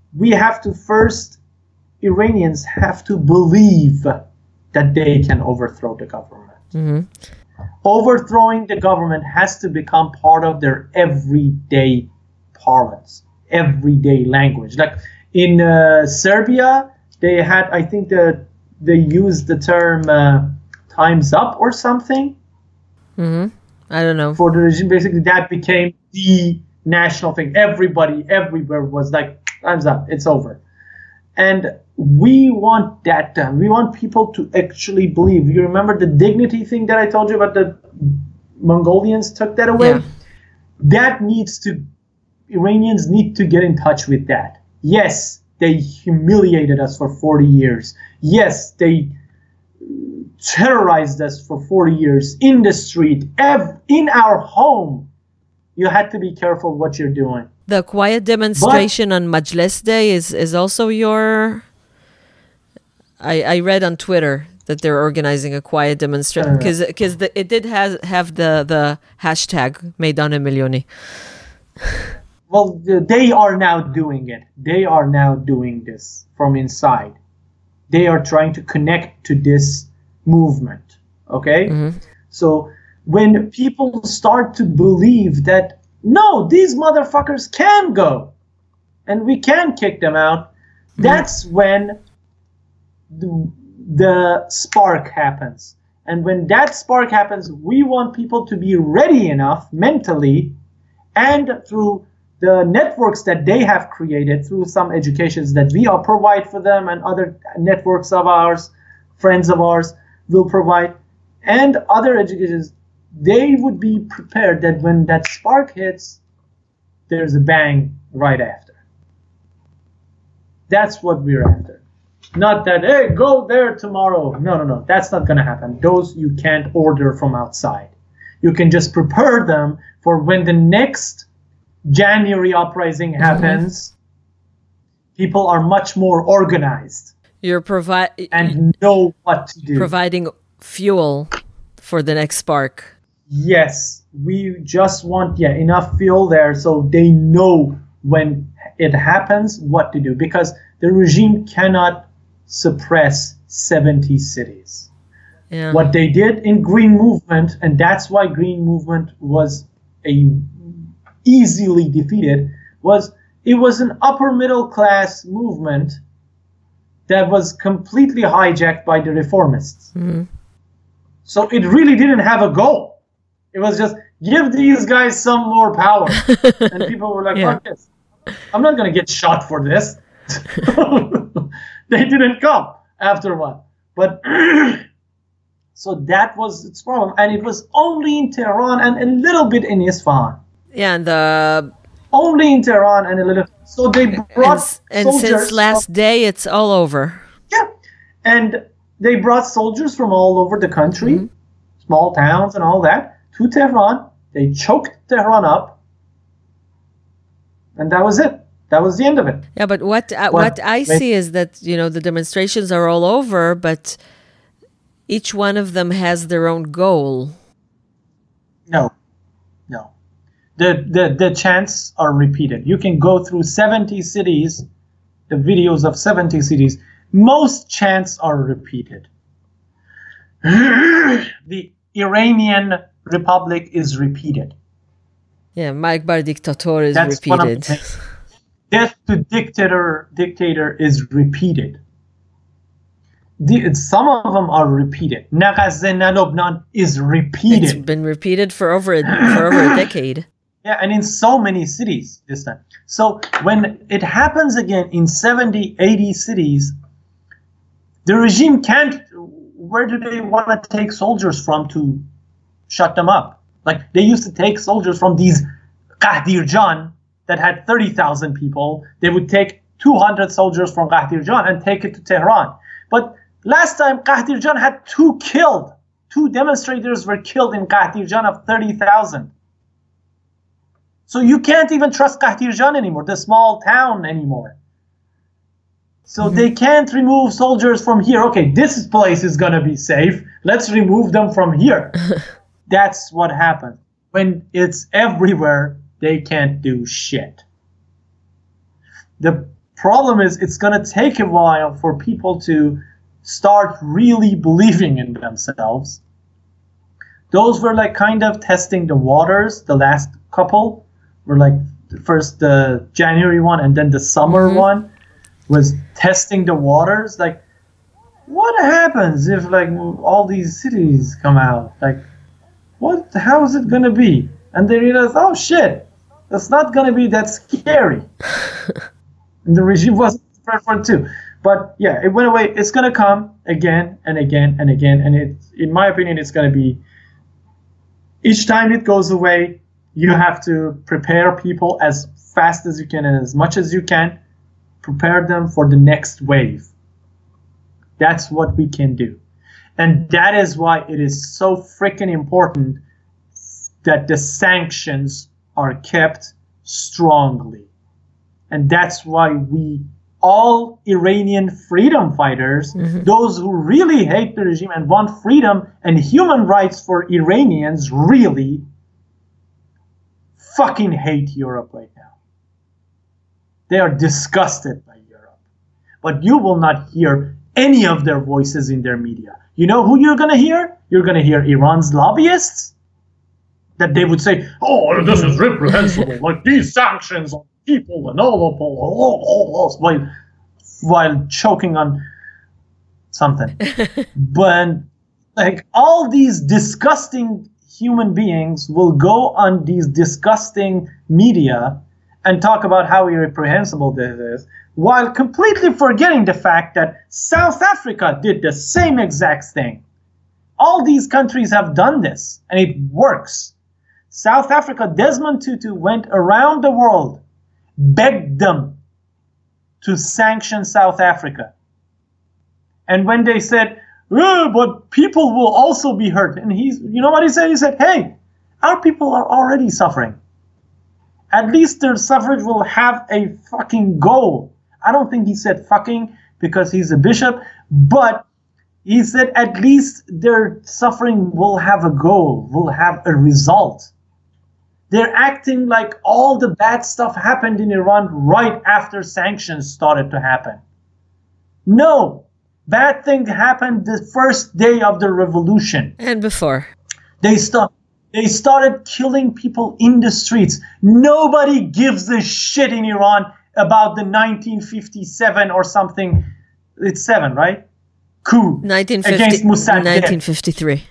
Iranians have to believe that they can overthrow the government. Mm-hmm. Overthrowing the government has to become part of their everyday parlance, everyday language. Like in Serbia, they had, I think they used the term time's up or something. Mm-hmm. I don't know. For the regime, basically that became the national thing. Everybody, everywhere was like, time's up, it's over. And we want that done. We want people to actually believe. You remember the dignity thing that I told you about? The Mongolians took that away? Yeah. Iranians need to get in touch with that. Yes, they humiliated us for 40 years. Yes, they terrorized us for 40 years in the street, in our home. You had to be careful what you're doing. The quiet demonstration on Majlis Day is also your... I read on Twitter that they're organizing a quiet demonstration because it did have the hashtag Meydan Milyoni. Well, they are now doing it. They are now doing this from inside. They are trying to connect to this movement. Okay? Mm-hmm. So when people start to believe that, no, these motherfuckers can go and we can kick them out, that's when the spark happens. And when that spark happens, we want people to be ready enough mentally and through the networks that they have created, through some educations that we all provide for them and other networks of ours, friends of ours will provide, and other educations, they would be prepared that when that spark hits, there's a bang right after. That's what we're after. Not that, hey, go there tomorrow. No. That's not going to happen. Those you can't order from outside. You can just prepare them for when the next January uprising happens. People are much more organized. You're and know what to do. Providing fuel for the next spark. Yes, we just want enough fuel there so they know when it happens what to do, because the regime cannot suppress 70 cities. Yeah. What they did in Green Movement, and that's why Green Movement was easily defeated, it was an upper middle class movement that was completely hijacked by the reformists. Mm-hmm. So it really didn't have a goal. It was just, give these guys some more power. And people were like, fuck this. I'm not going to get shot for this. They didn't come after a while. But so that was its problem. And it was only in Tehran and a little bit in Isfahan. Yeah, and only in Tehran and a little. So they brought and since last day, it's all over. Yeah, and they brought soldiers from all over the country, small towns and all that, to Tehran. They choked Tehran up, and that was it. That was the end of it. Yeah, but what I see is that, the demonstrations are all over, but each one of them has their own goal. No. The chants are repeated. You can go through 70 cities, the videos of 70 cities. Most chants are repeated. The Iranian Republic is repeated. Yeah, Mike Bar Dictator is That's repeated. Death to dictator is repeated. Some of them are repeated. Nagazze na Lubnan is repeated. It's been repeated for over a decade. Yeah, and in so many cities this time. So when it happens again in 70, 80 cities, the regime can't. Where do they want to take soldiers from to shut them up? Like, they used to take soldiers from these Qahdirjan that had 30,000 people. They would take 200 soldiers from Qahdirjan and take it to Tehran. But last time, Qahdirjan had 2 killed. 2 demonstrators were killed in Qahdirjan of 30,000. So you can't even trust Qahdirjan anymore, the small town anymore. So they can't remove soldiers from here. Okay, this place is going to be safe. Let's remove them from here. That's what happens. When it's everywhere, they can't do shit. The problem is it's going to take a while for people to start really believing in themselves. Those were like kind of testing the waters. The last couple were like first the January one and then the summer one was testing the waters. Like, what happens if like all these cities come out? Like, how is it going to be? And they realized, oh shit, that's not going to be that scary. And the regime wasn't prepared for it too. But yeah, it went away. It's going to come again and again and again. And in my opinion, it's going to be, each time it goes away, you have to prepare people as fast as you can and as much as you can. Prepare them for the next wave. That's what we can do. And that is why it is so freaking important that the sanctions are kept strongly. And that's why we all Iranian freedom fighters, those who really hate the regime and want freedom and human rights for Iranians, really fucking hate Europe right now. They are disgusted by Europe. But you will not hear any of their voices in their media. You know who you're going to hear? You're going to hear Iran's lobbyists. That they would say, oh, this is reprehensible, like these sanctions on people and all, while choking on something. But like all these disgusting human beings will go on these disgusting media and talk about how irreprehensible this is, while completely forgetting the fact that South Africa did the same exact thing. All these countries have done this, and it works. South Africa, Desmond Tutu went around the world, begged them to sanction South Africa. And when they said, oh, but people will also be hurt, and you know what he said? He said, hey, our people are already suffering. At least their suffrage will have a fucking goal. I don't think he said fucking because he's a bishop, but he said at least their suffering will have a goal, will have a result. They're acting like all the bad stuff happened in Iran right after sanctions started to happen. No, bad thing happened the first day of the revolution. And before. They started killing people in the streets. Nobody gives a shit in Iran about the 1957 or something. It's 7, right? Coup against Mossadegh. 1953.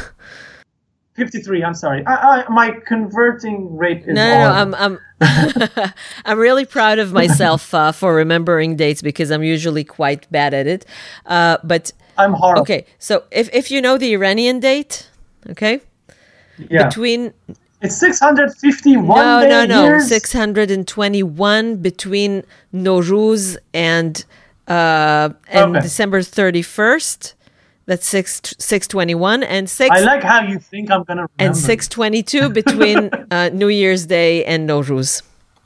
53. I'm sorry. My converting rate is No, I'm really proud of myself for remembering dates because I'm usually quite bad at it. But I'm horrible. Okay, so if you know the Iranian date, okay, yeah, between it's 651. No, years? 621 between Nowruz and December 31st. That's 621 and 6. I like how you think I'm gonna remember. And 622 between New Year's Day and Nowruz.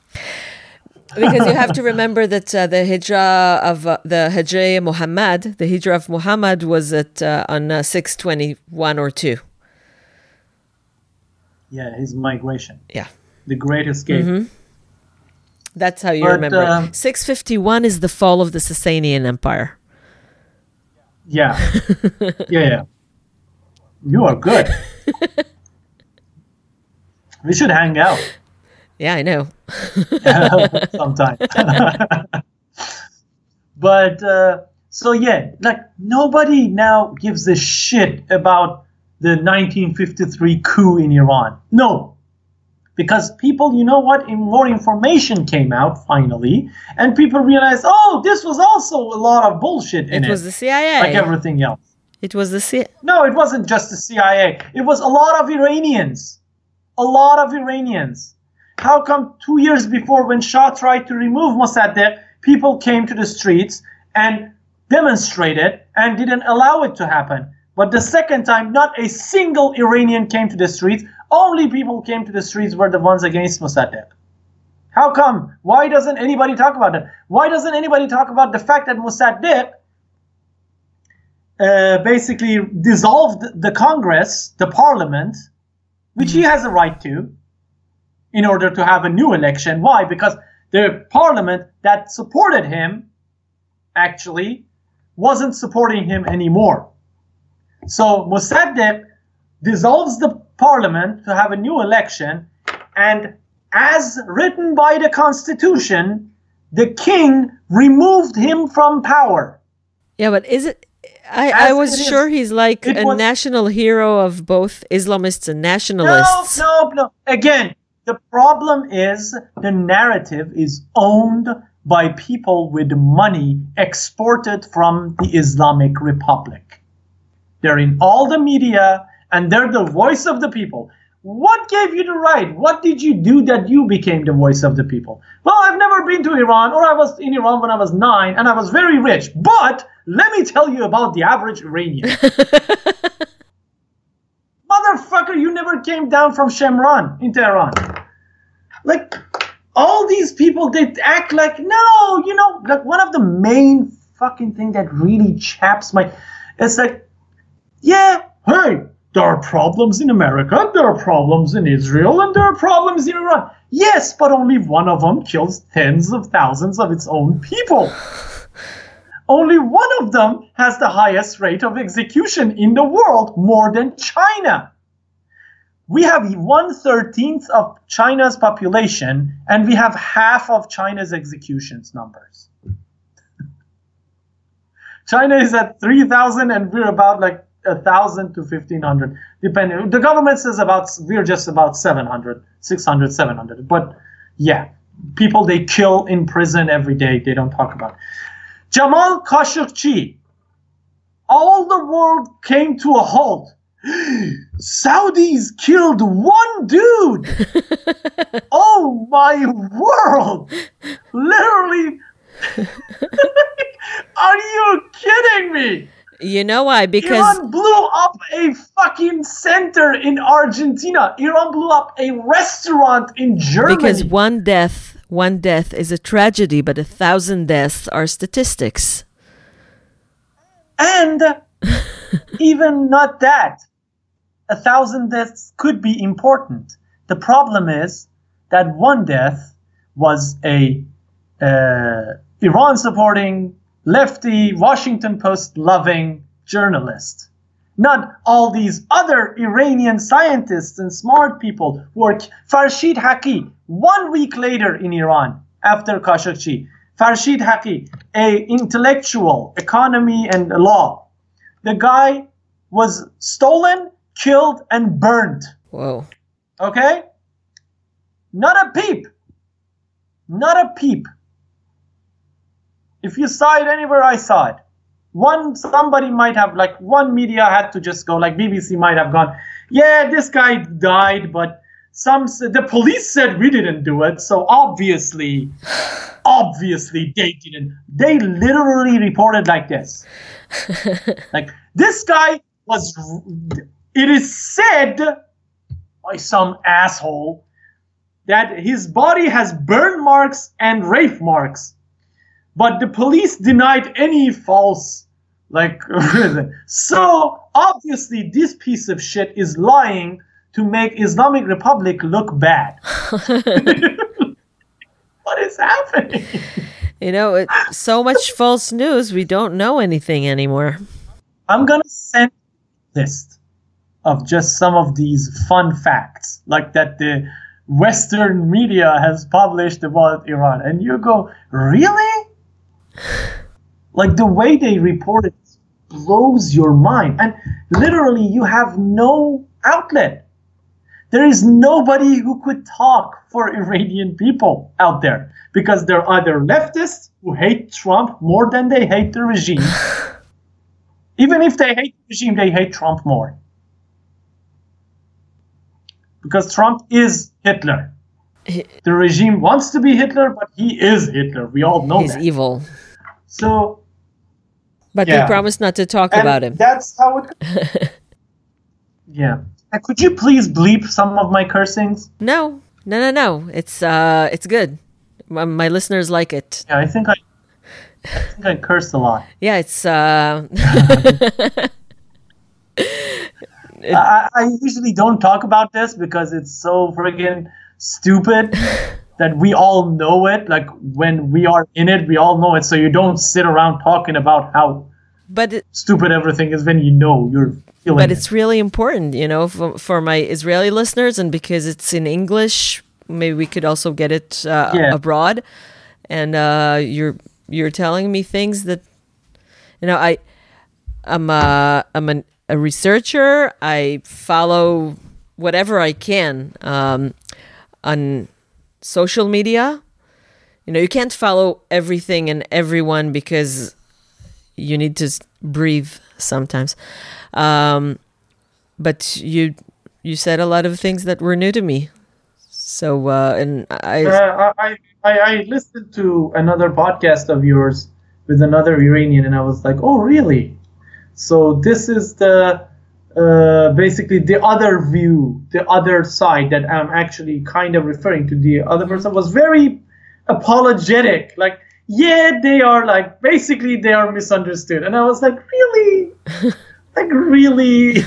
Because you have to remember that the Hijrah of the Hijrah Muhammad, the Hijrah of Muhammad was on 621 or 2. Yeah, his migration. Yeah. The Great Escape. Mm-hmm. That's how you remember it. 651 is the fall of the Sasanian Empire. Yeah. Yeah. You are good. We should hang out. Yeah, I know. Sometime. But, so yeah, like nobody now gives a shit about the 1953 coup in Iran. No. Because people, you know what, more information came out finally, and people realized, oh, this was also a lot of bullshit in it. It was the CIA. Like everything else. It was the CIA. No, it wasn't just the CIA. It was a lot of Iranians. A lot of Iranians. How come 2 years before when Shah tried to remove Mossadegh, people came to the streets and demonstrated and didn't allow it to happen? But the second time, not a single Iranian came to the streets. Only people came to the streets were the ones against Mossadegh. How come? Why doesn't anybody talk about that? Why doesn't anybody talk about the fact that Mossadegh basically dissolved the Congress, the parliament, which he has a right to, in order to have a new election? Why? Because the parliament that supported him actually wasn't supporting him anymore. So Mossadegh dissolves the parliament to have a new election, and as written by the constitution, the king removed him from power. Yeah, but is it... I was sure he's like a national hero of both Islamists and nationalists. No. Again, the problem is the narrative is owned by people with money exported from the Islamic Republic. They're in all the media, and they're the voice of the people. What gave you the right? What did you do that you became the voice of the people? Well, I've never been to Iran, or I was in Iran when I was 9, and I was very rich. But let me tell you about the average Iranian. Motherfucker, you never came down from Shemran in Tehran. Like, all these people, they act like, no, like one of the main fucking thing that really chaps it's like, yeah, hey, there are problems in America, there are problems in Israel, and there are problems in Iran. Yes, but only one of them kills tens of thousands of its own people. Only one of them has the highest rate of execution in the world, more than China. We have 1/13 of China's population, and we have half of China's executions numbers. China is at 3,000, and we're about like 1,000 to 1,500, depending. The government says we're just about 700, 600, 700. But yeah, people they kill in prison every day, they don't talk about. Jamal Khashoggi, all the world came to a halt. Saudis killed one dude. Oh my world! Literally. Are you kidding me? You know why? Because Iran blew up a fucking center in Argentina. Iran blew up a restaurant in Germany. Because one death is a tragedy, but 1,000 deaths are statistics. And even not that. 1,000 deaths could be important. The problem is that one death was a Iran-supporting, lefty, Washington Post-loving journalist. Not all these other Iranian scientists and smart people who are... Farshid Haqi, 1 week later in Iran, after Khashoggi, Farshid Haqi, a intellectual, economy and law. The guy was stolen, killed, and burned. Whoa. Okay? Not a peep. Not a peep. If you saw it anywhere, I saw it. Somebody might have, like, one media had to just go, like BBC might have gone, yeah, this guy died, but the police said we didn't do it, so obviously they didn't. They literally reported like this. Like, this guy it is said by some asshole that his body has burn marks and rape marks. But the police denied any false, reason. So, obviously, this piece of shit is lying to make Islamic Republic look bad. What is happening? So much false news, we don't know anything anymore. I'm going to send a list of just some of these fun facts, like that the Western media has published about Iran. And you go, really? Like, the way they report it blows your mind. And literally, you have no outlet. There is nobody who could talk for Iranian people out there, because they're either leftists who hate Trump more than they hate the regime. Even if they hate the regime, they hate Trump more. Because Trump is Hitler. The regime wants to be Hitler, but he is Hitler. We all know He's that. evil. So, but yeah. we promised not to talk about him. That's how it... Yeah. Could you please bleep some of my cursings? No. It's good. My listeners like it. Yeah, I think I cursed a lot. Yeah, it's... I usually don't talk about this because it's so friggin' stupid that we all know it. Like, when we are in it, we all know it. So you don't sit around talking about how stupid everything is when you know you're feeling it. But it's really important, for my Israeli listeners, and because it's in English, maybe we could also get it abroad. And you're telling me things that, I'm a researcher. I follow whatever I can on social media. You can't follow everything and everyone because you need to breathe sometimes. But you said a lot of things that were new to me. So and I listened to another podcast of yours with another Iranian, and I was like, oh, really? So this is the basically the other view, the other side that I'm actually kind of referring to, the other person was very apologetic. Like, yeah, they are like, basically they are misunderstood. And I was like, really? Like, really?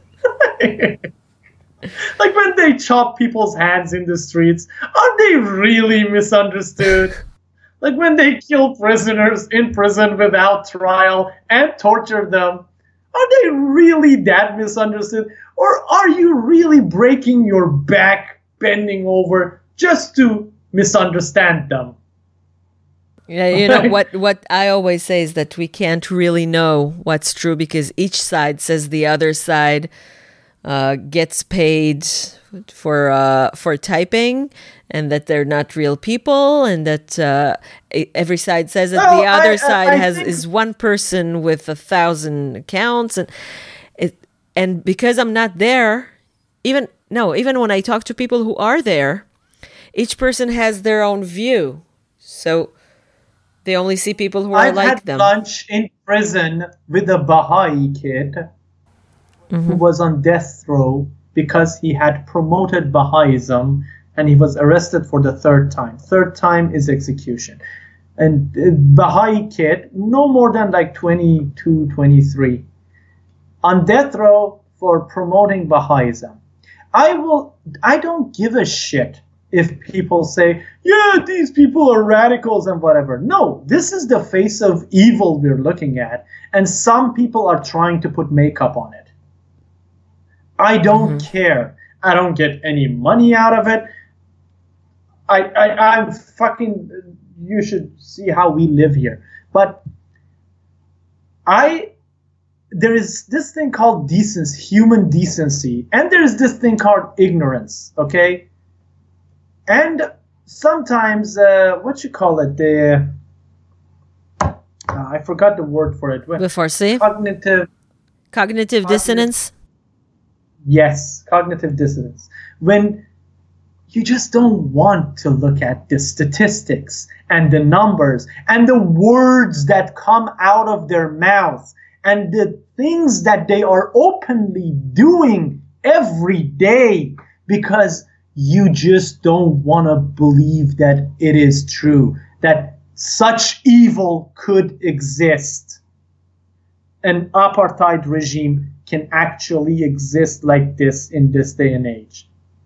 Like when they chop people's hands in the streets, are they really misunderstood? Like when they kill prisoners in prison without trial and torture them, are they really that misunderstood? Or are you really breaking your back, bending over just to misunderstand them? Yeah, you know, what I always say is that we can't really know what's true because each side says the other side gets paid for typing, and that they're not real people, and that every side says that the other side is one person with 1,000 accounts, and because I'm not there, even when I talk to people who are there, each person has their own view, so they only see people who are like them. I've had lunch in prison with a Baha'i kid who was on death row because he had promoted Baha'ism, and he was arrested for the third time. Third time is execution. And Baha'i kid, no more than like 22, 23, on death row for promoting Baha'ism. I don't give a shit if people say, yeah, these people are radicals and whatever. No, this is the face of evil we're looking at, and some people are trying to put makeup on it. I don't care. I don't get any money out of it. I'm fucking, you should see how we live here. But there is this thing called decency, human decency, and there is this thing called ignorance, okay? And sometimes, what you call it, I forgot the word for it. Cognitive dissonance? Yes, cognitive dissonance. When you just don't want to look at the statistics and the numbers and the words that come out of their mouths and the things that they are openly doing every day, because you just don't want to believe that it is true, that such evil could exist. An apartheid regime can actually exist like this in this day and age.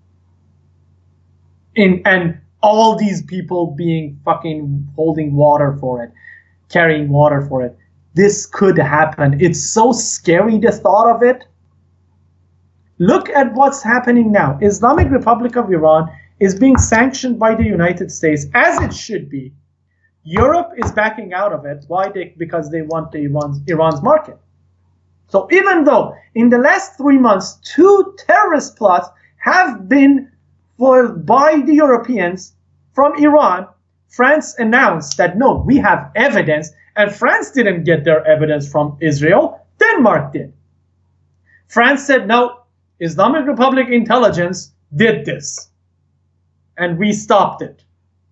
And all these people being fucking holding water for it, carrying water for it. This could happen. It's so scary, the thought of it. Look at what's happening now. Islamic Republic of Iran is being sanctioned by the United States, as it should be. Europe is backing out of it. Why? Because they want Iran's market. So even though in the last 3 months, 2 terrorist plots have been foiled by the Europeans from Iran, France announced that no, we have evidence, and France didn't get their evidence from Israel, Denmark did. France said no, Islamic Republic intelligence did this, and we stopped it.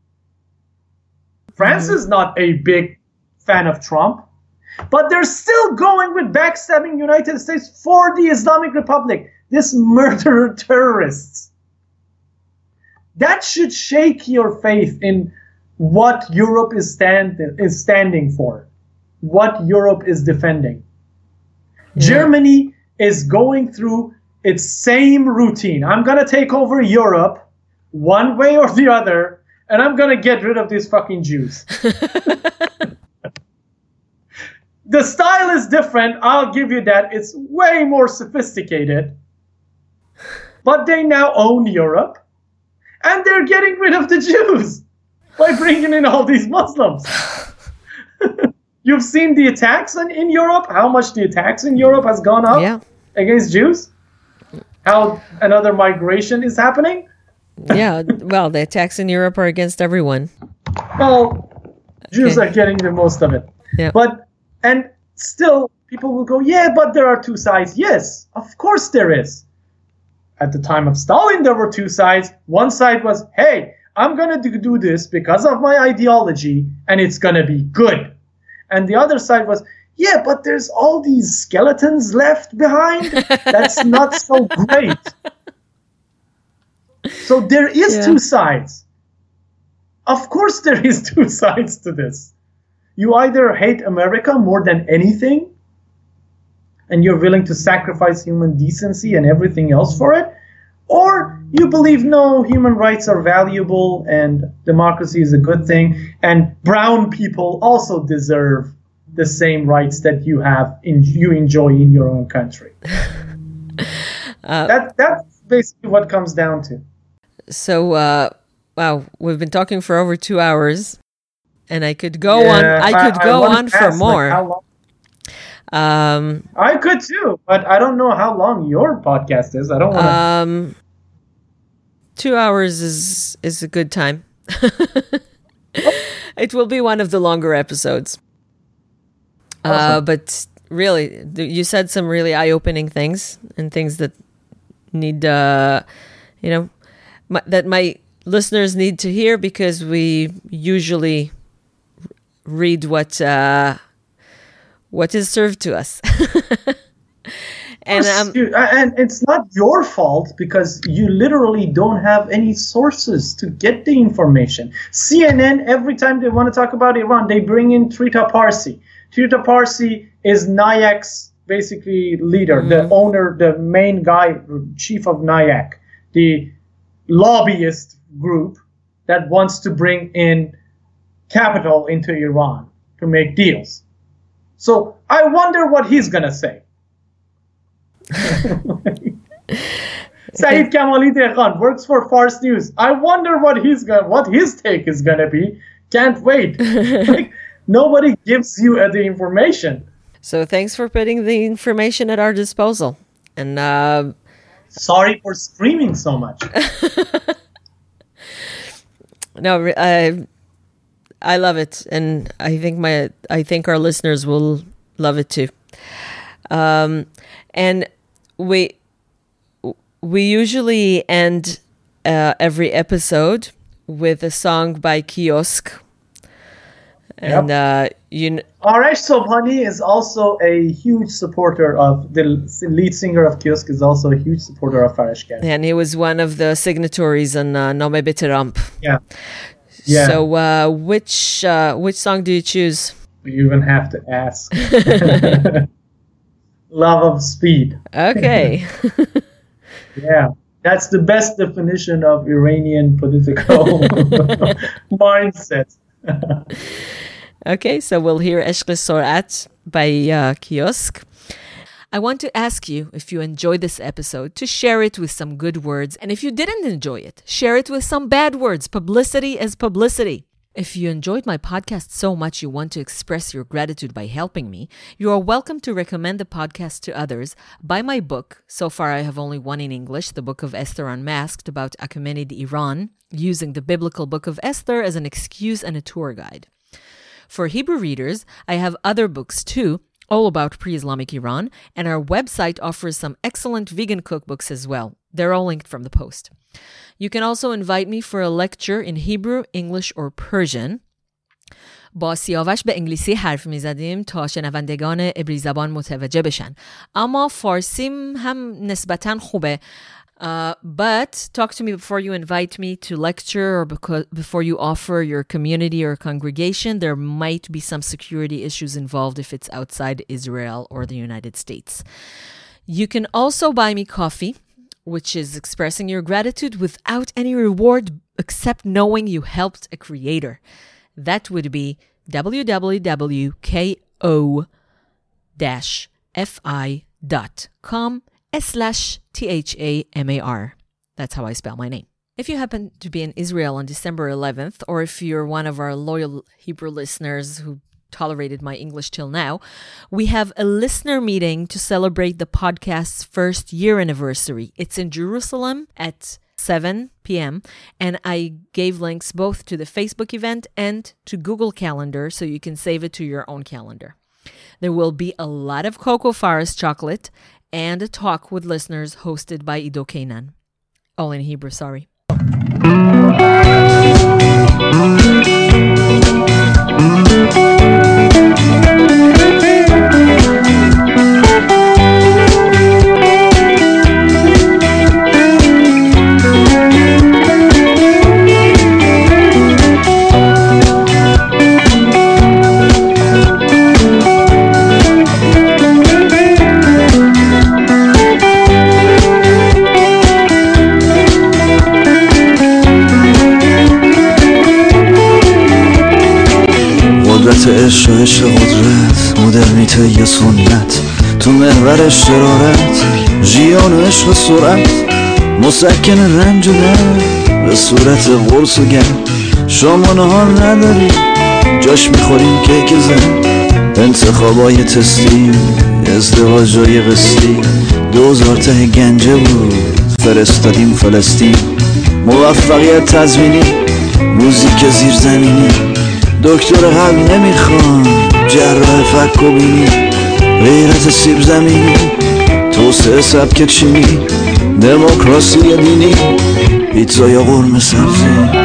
France is not a big fan of Trump, but they're still going with backstabbing United States for the Islamic Republic, this murderer terrorists. That should shake your faith in what Europe is standing for, what Europe is defending. Yeah. Germany is going through its same routine. I'm going to take over Europe one way or the other, and I'm going to get rid of these fucking Jews. The style is different, I'll give you that. It's way more sophisticated. But they now own Europe, and they're getting rid of the Jews by bringing in all these Muslims. You've seen the attacks in Europe, how much the attacks in Europe has gone up against Jews? How another migration is happening? Yeah, well, the attacks in Europe are against everyone. Well, Jews are getting the most of it. Yeah. And still, people will go, yeah, but there are 2 sides. Yes, of course there is. At the time of Stalin, there were 2 sides. One side was, hey, I'm going to do this because of my ideology, and it's going to be good. And the other side was, yeah, but there's all these skeletons left behind. That's not so great. So there is two sides. Of course there is two sides to this. You either hate America more than anything, and you're willing to sacrifice human decency and everything else for it, or you believe, no, human rights are valuable and democracy is a good thing, and brown people also deserve the same rights that you enjoy in your own country. That's basically what it comes down to. So, wow, we've been talking for over 2 hours, and I could go on. I could go on for more. Like, how long? I could too, but I don't know how long your podcast is. I don't want 2 hours is a good time. It will be one of the longer episodes. Awesome. But really, you said some really eye-opening things and things that need, that my listeners need to hear, because we usually read what is served to us. And it's not your fault, because you literally don't have any sources to get the information. CNN, every time they want to talk about Iran, they bring in Trita Parsi. Trita Parsi is NIAC's basically leader, the owner, the main guy, chief of NIAC, the lobbyist group that wants to bring in capital into Iran to make deals. So I wonder what he's going to say. Saeed Kamali Dehqan works for Fars News. I wonder what his take is going to be. Can't wait. Nobody gives you the information. So thanks for putting the information at our disposal. And sorry for screaming so much. No, I love it, and I think our listeners will love it too. And we usually end every episode with a song by Kiosk. And Arash Sobhani is also a huge supporter of, the lead singer of Kiosk is also a huge supporter of Farash Gad. And he was one of the signatories on Nome Biteramp. Yeah. So which song do you choose? You even have to ask. Love of Speed. Okay. Yeah. That's the best definition of Iranian political mindset. Okay, so we'll hear Eshq Sorat by Kiosk. I want to ask you, if you enjoyed this episode, to share it with some good words. And if you didn't enjoy it, share it with some bad words. Publicity is publicity. If you enjoyed my podcast so much you want to express your gratitude by helping me, you are welcome to recommend the podcast to others. Buy my book. So far, I have only one in English, the Book of Esther Unmasked, about Achaemenid Iran, using the biblical Book of Esther as an excuse and a tour guide. For Hebrew readers, I have other books too, all about pre-Islamic Iran, and our website offers some excellent vegan cookbooks as well. They're all linked from the post. You can also invite me for a lecture in Hebrew, English, or Persian. با سیاوش به انگلیسی حرف میزدیم تا شنوندگان عبری زبان متوجه بشن. اما فارسیم هم نسبتاً خوبه. But talk to me before you invite me to lecture or before you offer your community or congregation. There might be some security issues involved if it's outside Israel or the United States. You can also buy me coffee, which is expressing your gratitude without any reward except knowing you helped a creator. That would be www.ko-fi.com/THAMAR. That's how I spell my name. If you happen to be in Israel on December 11th, or if you're one of our loyal Hebrew listeners who tolerated my English till now, we have a listener meeting to celebrate the podcast's first year anniversary. It's in Jerusalem at 7 p.m. and I gave links both to the Facebook event and to Google Calendar so you can save it to your own calendar. There will be a lot of Cocoa Forest chocolate and a talk with listeners hosted by Ido Kainan. All in Hebrew, sorry. قدرت عشق و عشق قدرت، مدرنیته یا سنت تو محور شرارت، ژیان و عشق سرعت مسکن رنج و درد به صورت قرص و گرد. شما نهار نداری جاش میخوریم کیک زن، انتخابای تستی ازدواجای قسطی، 2000 ته گنجه بود فرستادیم فلسطین. موفقیت تضمینی موزیک زیرزمینی، دکتر قلب نمیخوان جراح فک و بینی، غیرت سیب زمینی توسعه سبک چینی، دموکراسی دینی پیتزا یا قرمه سبزی.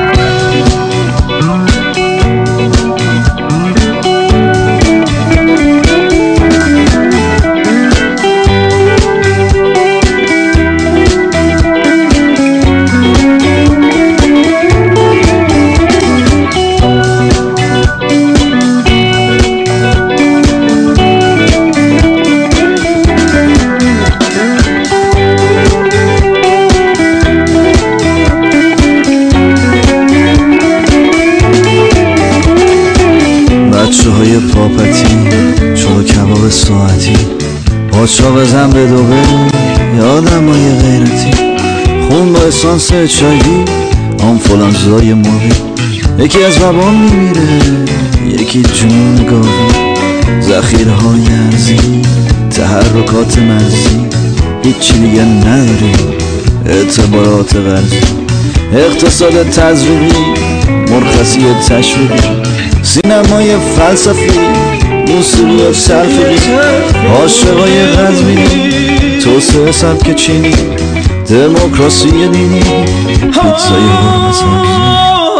بچه های پاپتی چلو کباب ساعتی، پاچا بزن به دوبه یادم های غیرتی، خون با اسانس چایی آنفولانزای ماهی، یکی از بابام میمیره یکی جون گاهی، ذخیره های ارزی تحرکات مرزی، هیچی دیگه نداری اعتبارات غربی، اقتصاد تزریقی مرخصی تشویقی، سینمای فلسفی موسیقی سلفی، عاشقای قزوینی توسعه سبک چینی، دموکراسی دینی پیتزای قرمه سبزی.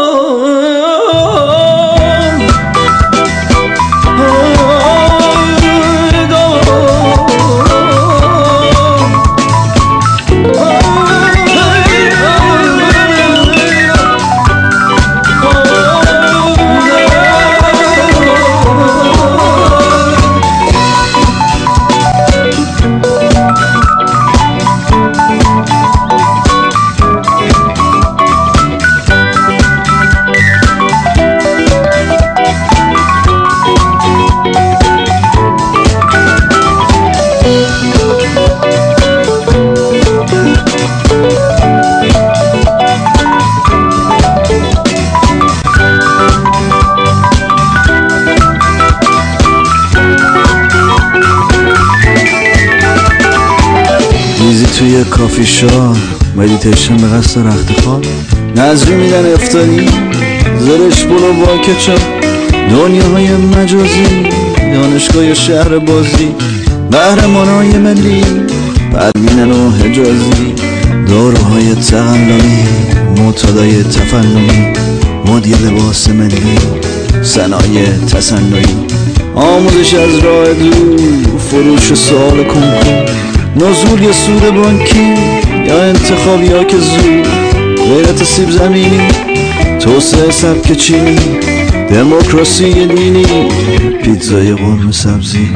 توی کافی شاپ مدیتیشن به قصد رخت خواب، نظری میدن افتاری زرش بلو با کچاپ، دنیاهای مجازی دانشگاه شهر بازی، قهرمانای ملی پروینن و حجازی، داروهای تقلبی معتادای تفننی، مدی لباس ملی صنایع تصنعی، آموزش از راه دور فروش سوال کنکور، نزول یا سود بانکی یا انتخابی ها که زود، غیرت سیب زمینی توسعه سبک چینی، دموکراسی دینی پیتزای قرمه سبزی.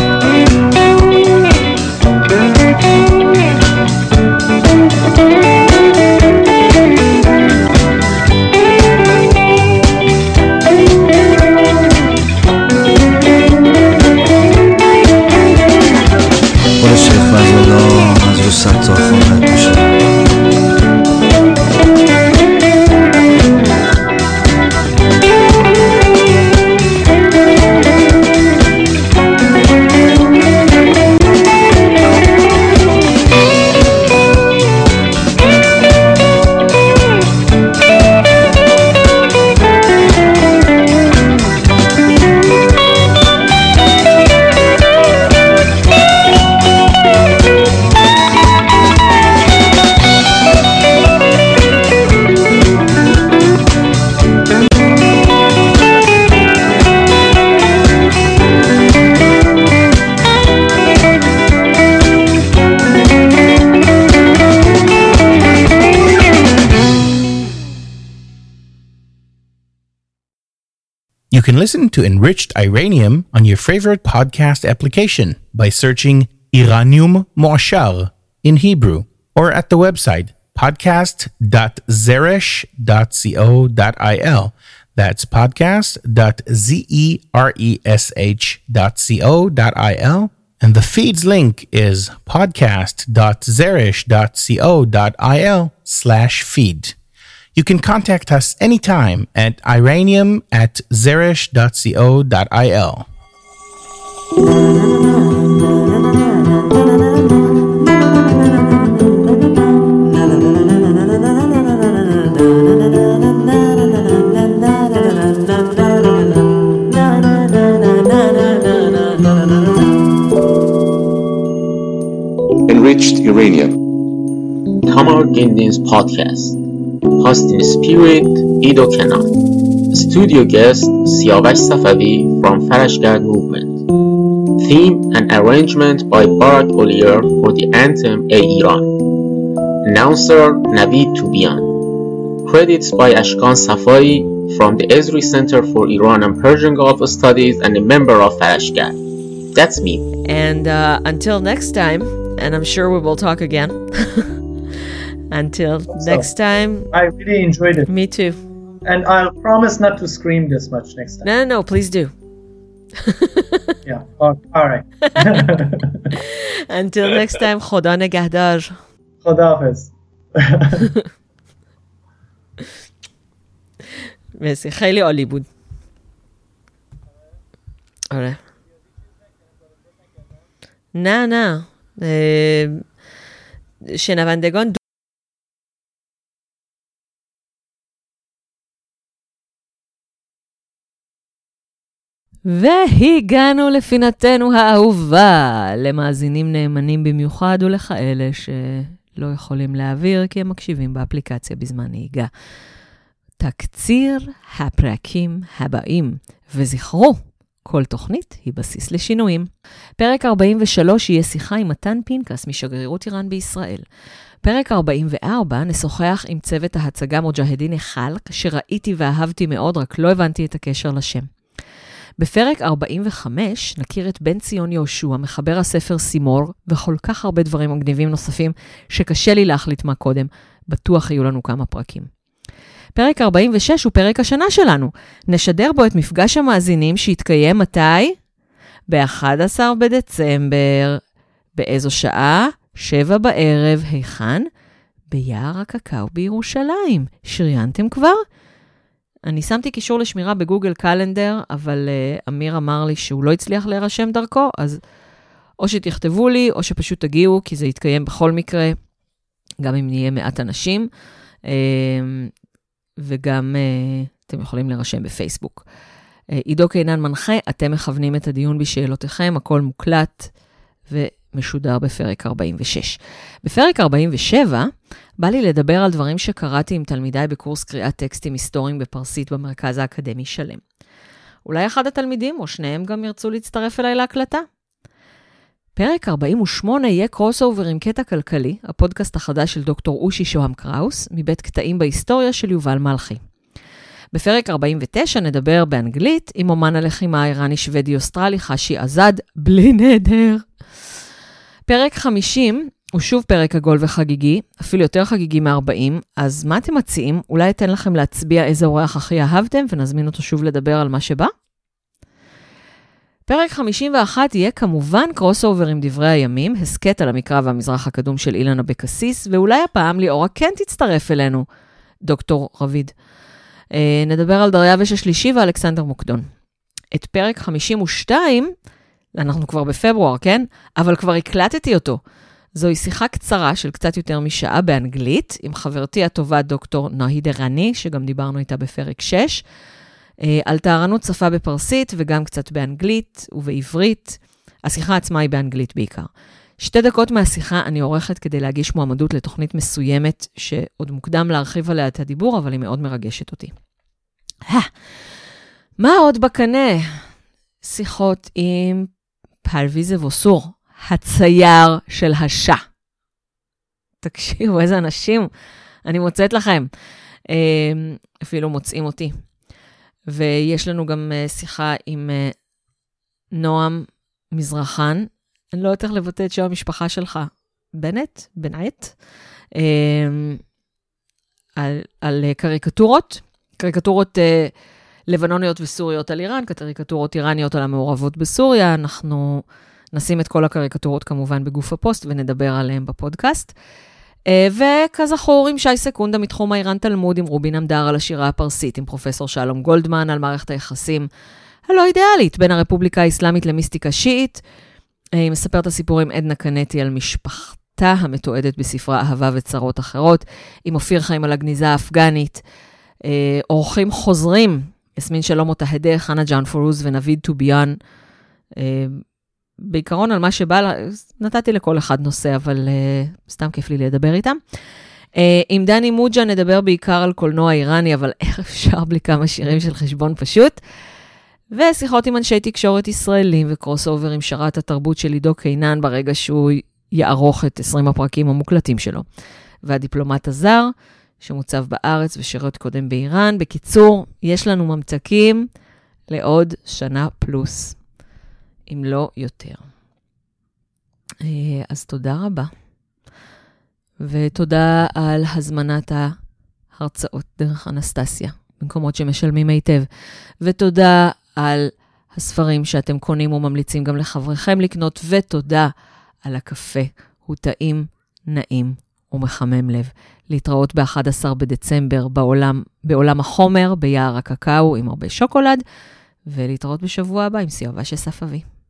You can listen to Enriched Iranium on your favorite podcast application by searching Iranium Moashar in Hebrew or at the website podcast.zeresh.co.il. That's podcast.zeresh.co.il. And the feed's link is podcast.zeresh.co.il/feed. You can contact us anytime at iranium@zeresh.co.il. Enriched Iranian. Tamar Gendin's podcast. Host in spirit, Ido Kenan. Studio guest, Siavash Safavi from Farashgad Movement. Theme and arrangement by Barak Olier for the anthem Ey Iran. Announcer, Navid Tubian. Credits by Ashkan Safai from the Esri Center for Iran and Persian Gulf Studies and a member of Farashgad. That's me. And until next time, and I'm sure we will talk again. Until next time. I really enjoyed it. Me too. And I'll promise not to scream this much next time. No, please do. Yeah. All right. Until next time, Khoda Negahdar. Khoda Hafiz. مرسی خیلی عالی بود. آره. نه شنوندگان והגענו לפינתנו האהובה, למאזינים נאמנים במיוחד ולכאלה שלא יכולים להעביר כי הם מקשיבים באפליקציה בזמן נהיגה. תקציר הפרקים הבאים, וזכרו, כל תוכנית היא בסיס לשינויים. פרק 43 יהיה שיחה עם מתן פינקס משגרירות איראן בישראל. פרק 44 נשוחח עם צוות ההצגה מוג'הדין חלק, שראיתי ואהבתי מאוד, רק לא הבנתי את הקשר לשם. בפרק 45 נכיר את בן ציון יהושע, מחבר הספר סימור, וכל כך הרבה דברים מגניבים נוספים שקשה לי להחליט מה קודם. בטוח יהיו לנו כמה פרקים. פרק 46 הוא פרק השנה שלנו. נשדר בו את מפגש המאזינים שהתקיים מתי? ב-11 בדצמבר. באיזו שעה? 7 בערב. היכן? ביער הקקאו בירושלים. שריינתם כבר? אני שמתי קישור לשמירה בגוגל קלנדר, אבל אמיר אמר לי שהוא לא הצליח להירשם דרכו, אז או שתכתבו לי, או שפשוט תגיעו, כי זה יתקיים בכל מקרה, גם אם נהיה מעט אנשים, וגם אתם יכולים להירשם בפייסבוק. עידו קינן מנחה, אתם מכוונים את הדיון בשאלותיכם, הכל מוקלט ומשודר בפרק 46. בפרק 47, בא לי לדבר על דברים שקראתי עם תלמידיי בקורס קריאת טקסטים היסטוריים בפרסית במרכז האקדמי שלם. אולי אחד התלמידים או שניהם גם ירצו להצטרף אליי להקלטה. פרק 48 יהיה קרוס אובר עם קטע כלכלי, הפודקאסט החדש של דוקטור אושי שוהם קראוס, מבית קטעים בהיסטוריה של יובל מלכי. בפרק 49 נדבר באנגלית עם אומן הלחימה האיראני שוודי אוסטרלי חשי עזד, בלי נדר. פרק 50 הוא שוב פרק עגול וחגיגי, אפילו יותר חגיגי מ-40, אז מה אתם מציעים? אולי אתן לכם להצביע איזה אורח הכי אהבתם, ונזמין אותו שוב לדבר על מה שבא? פרק 51 יהיה כמובן קרוס אובר עם דברי הימים, הסקט על המקרא והמזרח הקדום של אילן אבקסיס, ואולי הפעם ליאורה כן תצטרף אלינו, דוקטור רביד. נדבר על דריווש השלישי ואלכסנדר מוקדון. את פרק 52, אנחנו כבר בפברואר, כן? אבל כבר הקלטתי אותו. זוהי שיחה קצרה של קצת יותר משעה באנגלית, עם חברתי הטובה דוקטור נהיד ערני, שגם דיברנו איתה בפרק 6, על טהרנות שפה בפרסית וגם קצת באנגלית ובעברית. השיחה עצמה היא באנגלית בעיקר. 2 דקות מהשיחה אני עורכת כדי להגיש מועמדות לתוכנית מסוימת, שעוד מוקדם להרחיב עליה את הדיבור, אבל היא מאוד מרגשת אותי. מה עוד בקנה? שיחות עם פרוויז אבוסור, הצייר של השעה. תקשיבו, איזה אנשים אני מוצאת לכם. אפילו מוצאים אותי. ויש לנו גם שיחה עם נועם מזרחן. אני לא יודעת איך לבטא את שם המשפחה שלך. בנט? על קריקטורות לבנוניות וסוריות על איראן, קריקטורות איראניות על המעורבות בסוריה. אנחנו נשים את כל הקריקטורות כמובן בגוף הפוסט ונדבר עליהם בפודקאסט. וכזכור עם שי סקונדה מתחום האיראן תלמוד, עם רובין עמדר על השירה הפרסית, עם פרופסור שלום גולדמן על מערכת היחסים הלא אידיאלית בין הרפובליקה האסלאמית למיסטיקה שיעית. היא מספרת הסיפור עם עדנה קנטי על משפחתה המתועדת בספרה אהבה וצרות אחרות, עם אופיר חיים על הגניזה האפגנית. אורחים חוזרים, יסמין שלום אותהדה, חנה ג'אן פורוז ונביד טוביאן. בעיקרון על מה שבא, נתתי לכל אחד נושא, אבל סתם כיף לי לדבר איתם. עם דני מוג'ה נדבר בעיקר על קולנוע איראני, אבל איך אפשר בלי כמה שירים של חשבון פשוט. ושיחות עם אנשי תקשורת ישראלים וקרוס אובר עם שרת התרבות של עידו קינן, ברגע שהוא יערוך את 20 הפרקים המוקלטים שלו. והדיפלומט הזר, שמוצב בארץ ושירות קודם באיראן. בקיצור, יש לנו ממתקים לעוד שנה פלוס, אם לא יותר. אז תודה רבה. ותודה על הזמנת ההרצאות דרך אנסטסיה, במקומות שמשלמים היטב. ותודה על הספרים שאתם קונים וממליצים גם לחבריכם לקנות, ותודה על הקפה. הוא טעים, נעים ומחמם לב. להתראות ב-11 בדצמבר בעולם החומר, ביער הקקאו עם הרבה שוקולד, ולהתראות בשבוע הבא עם סיובה של ספאבי.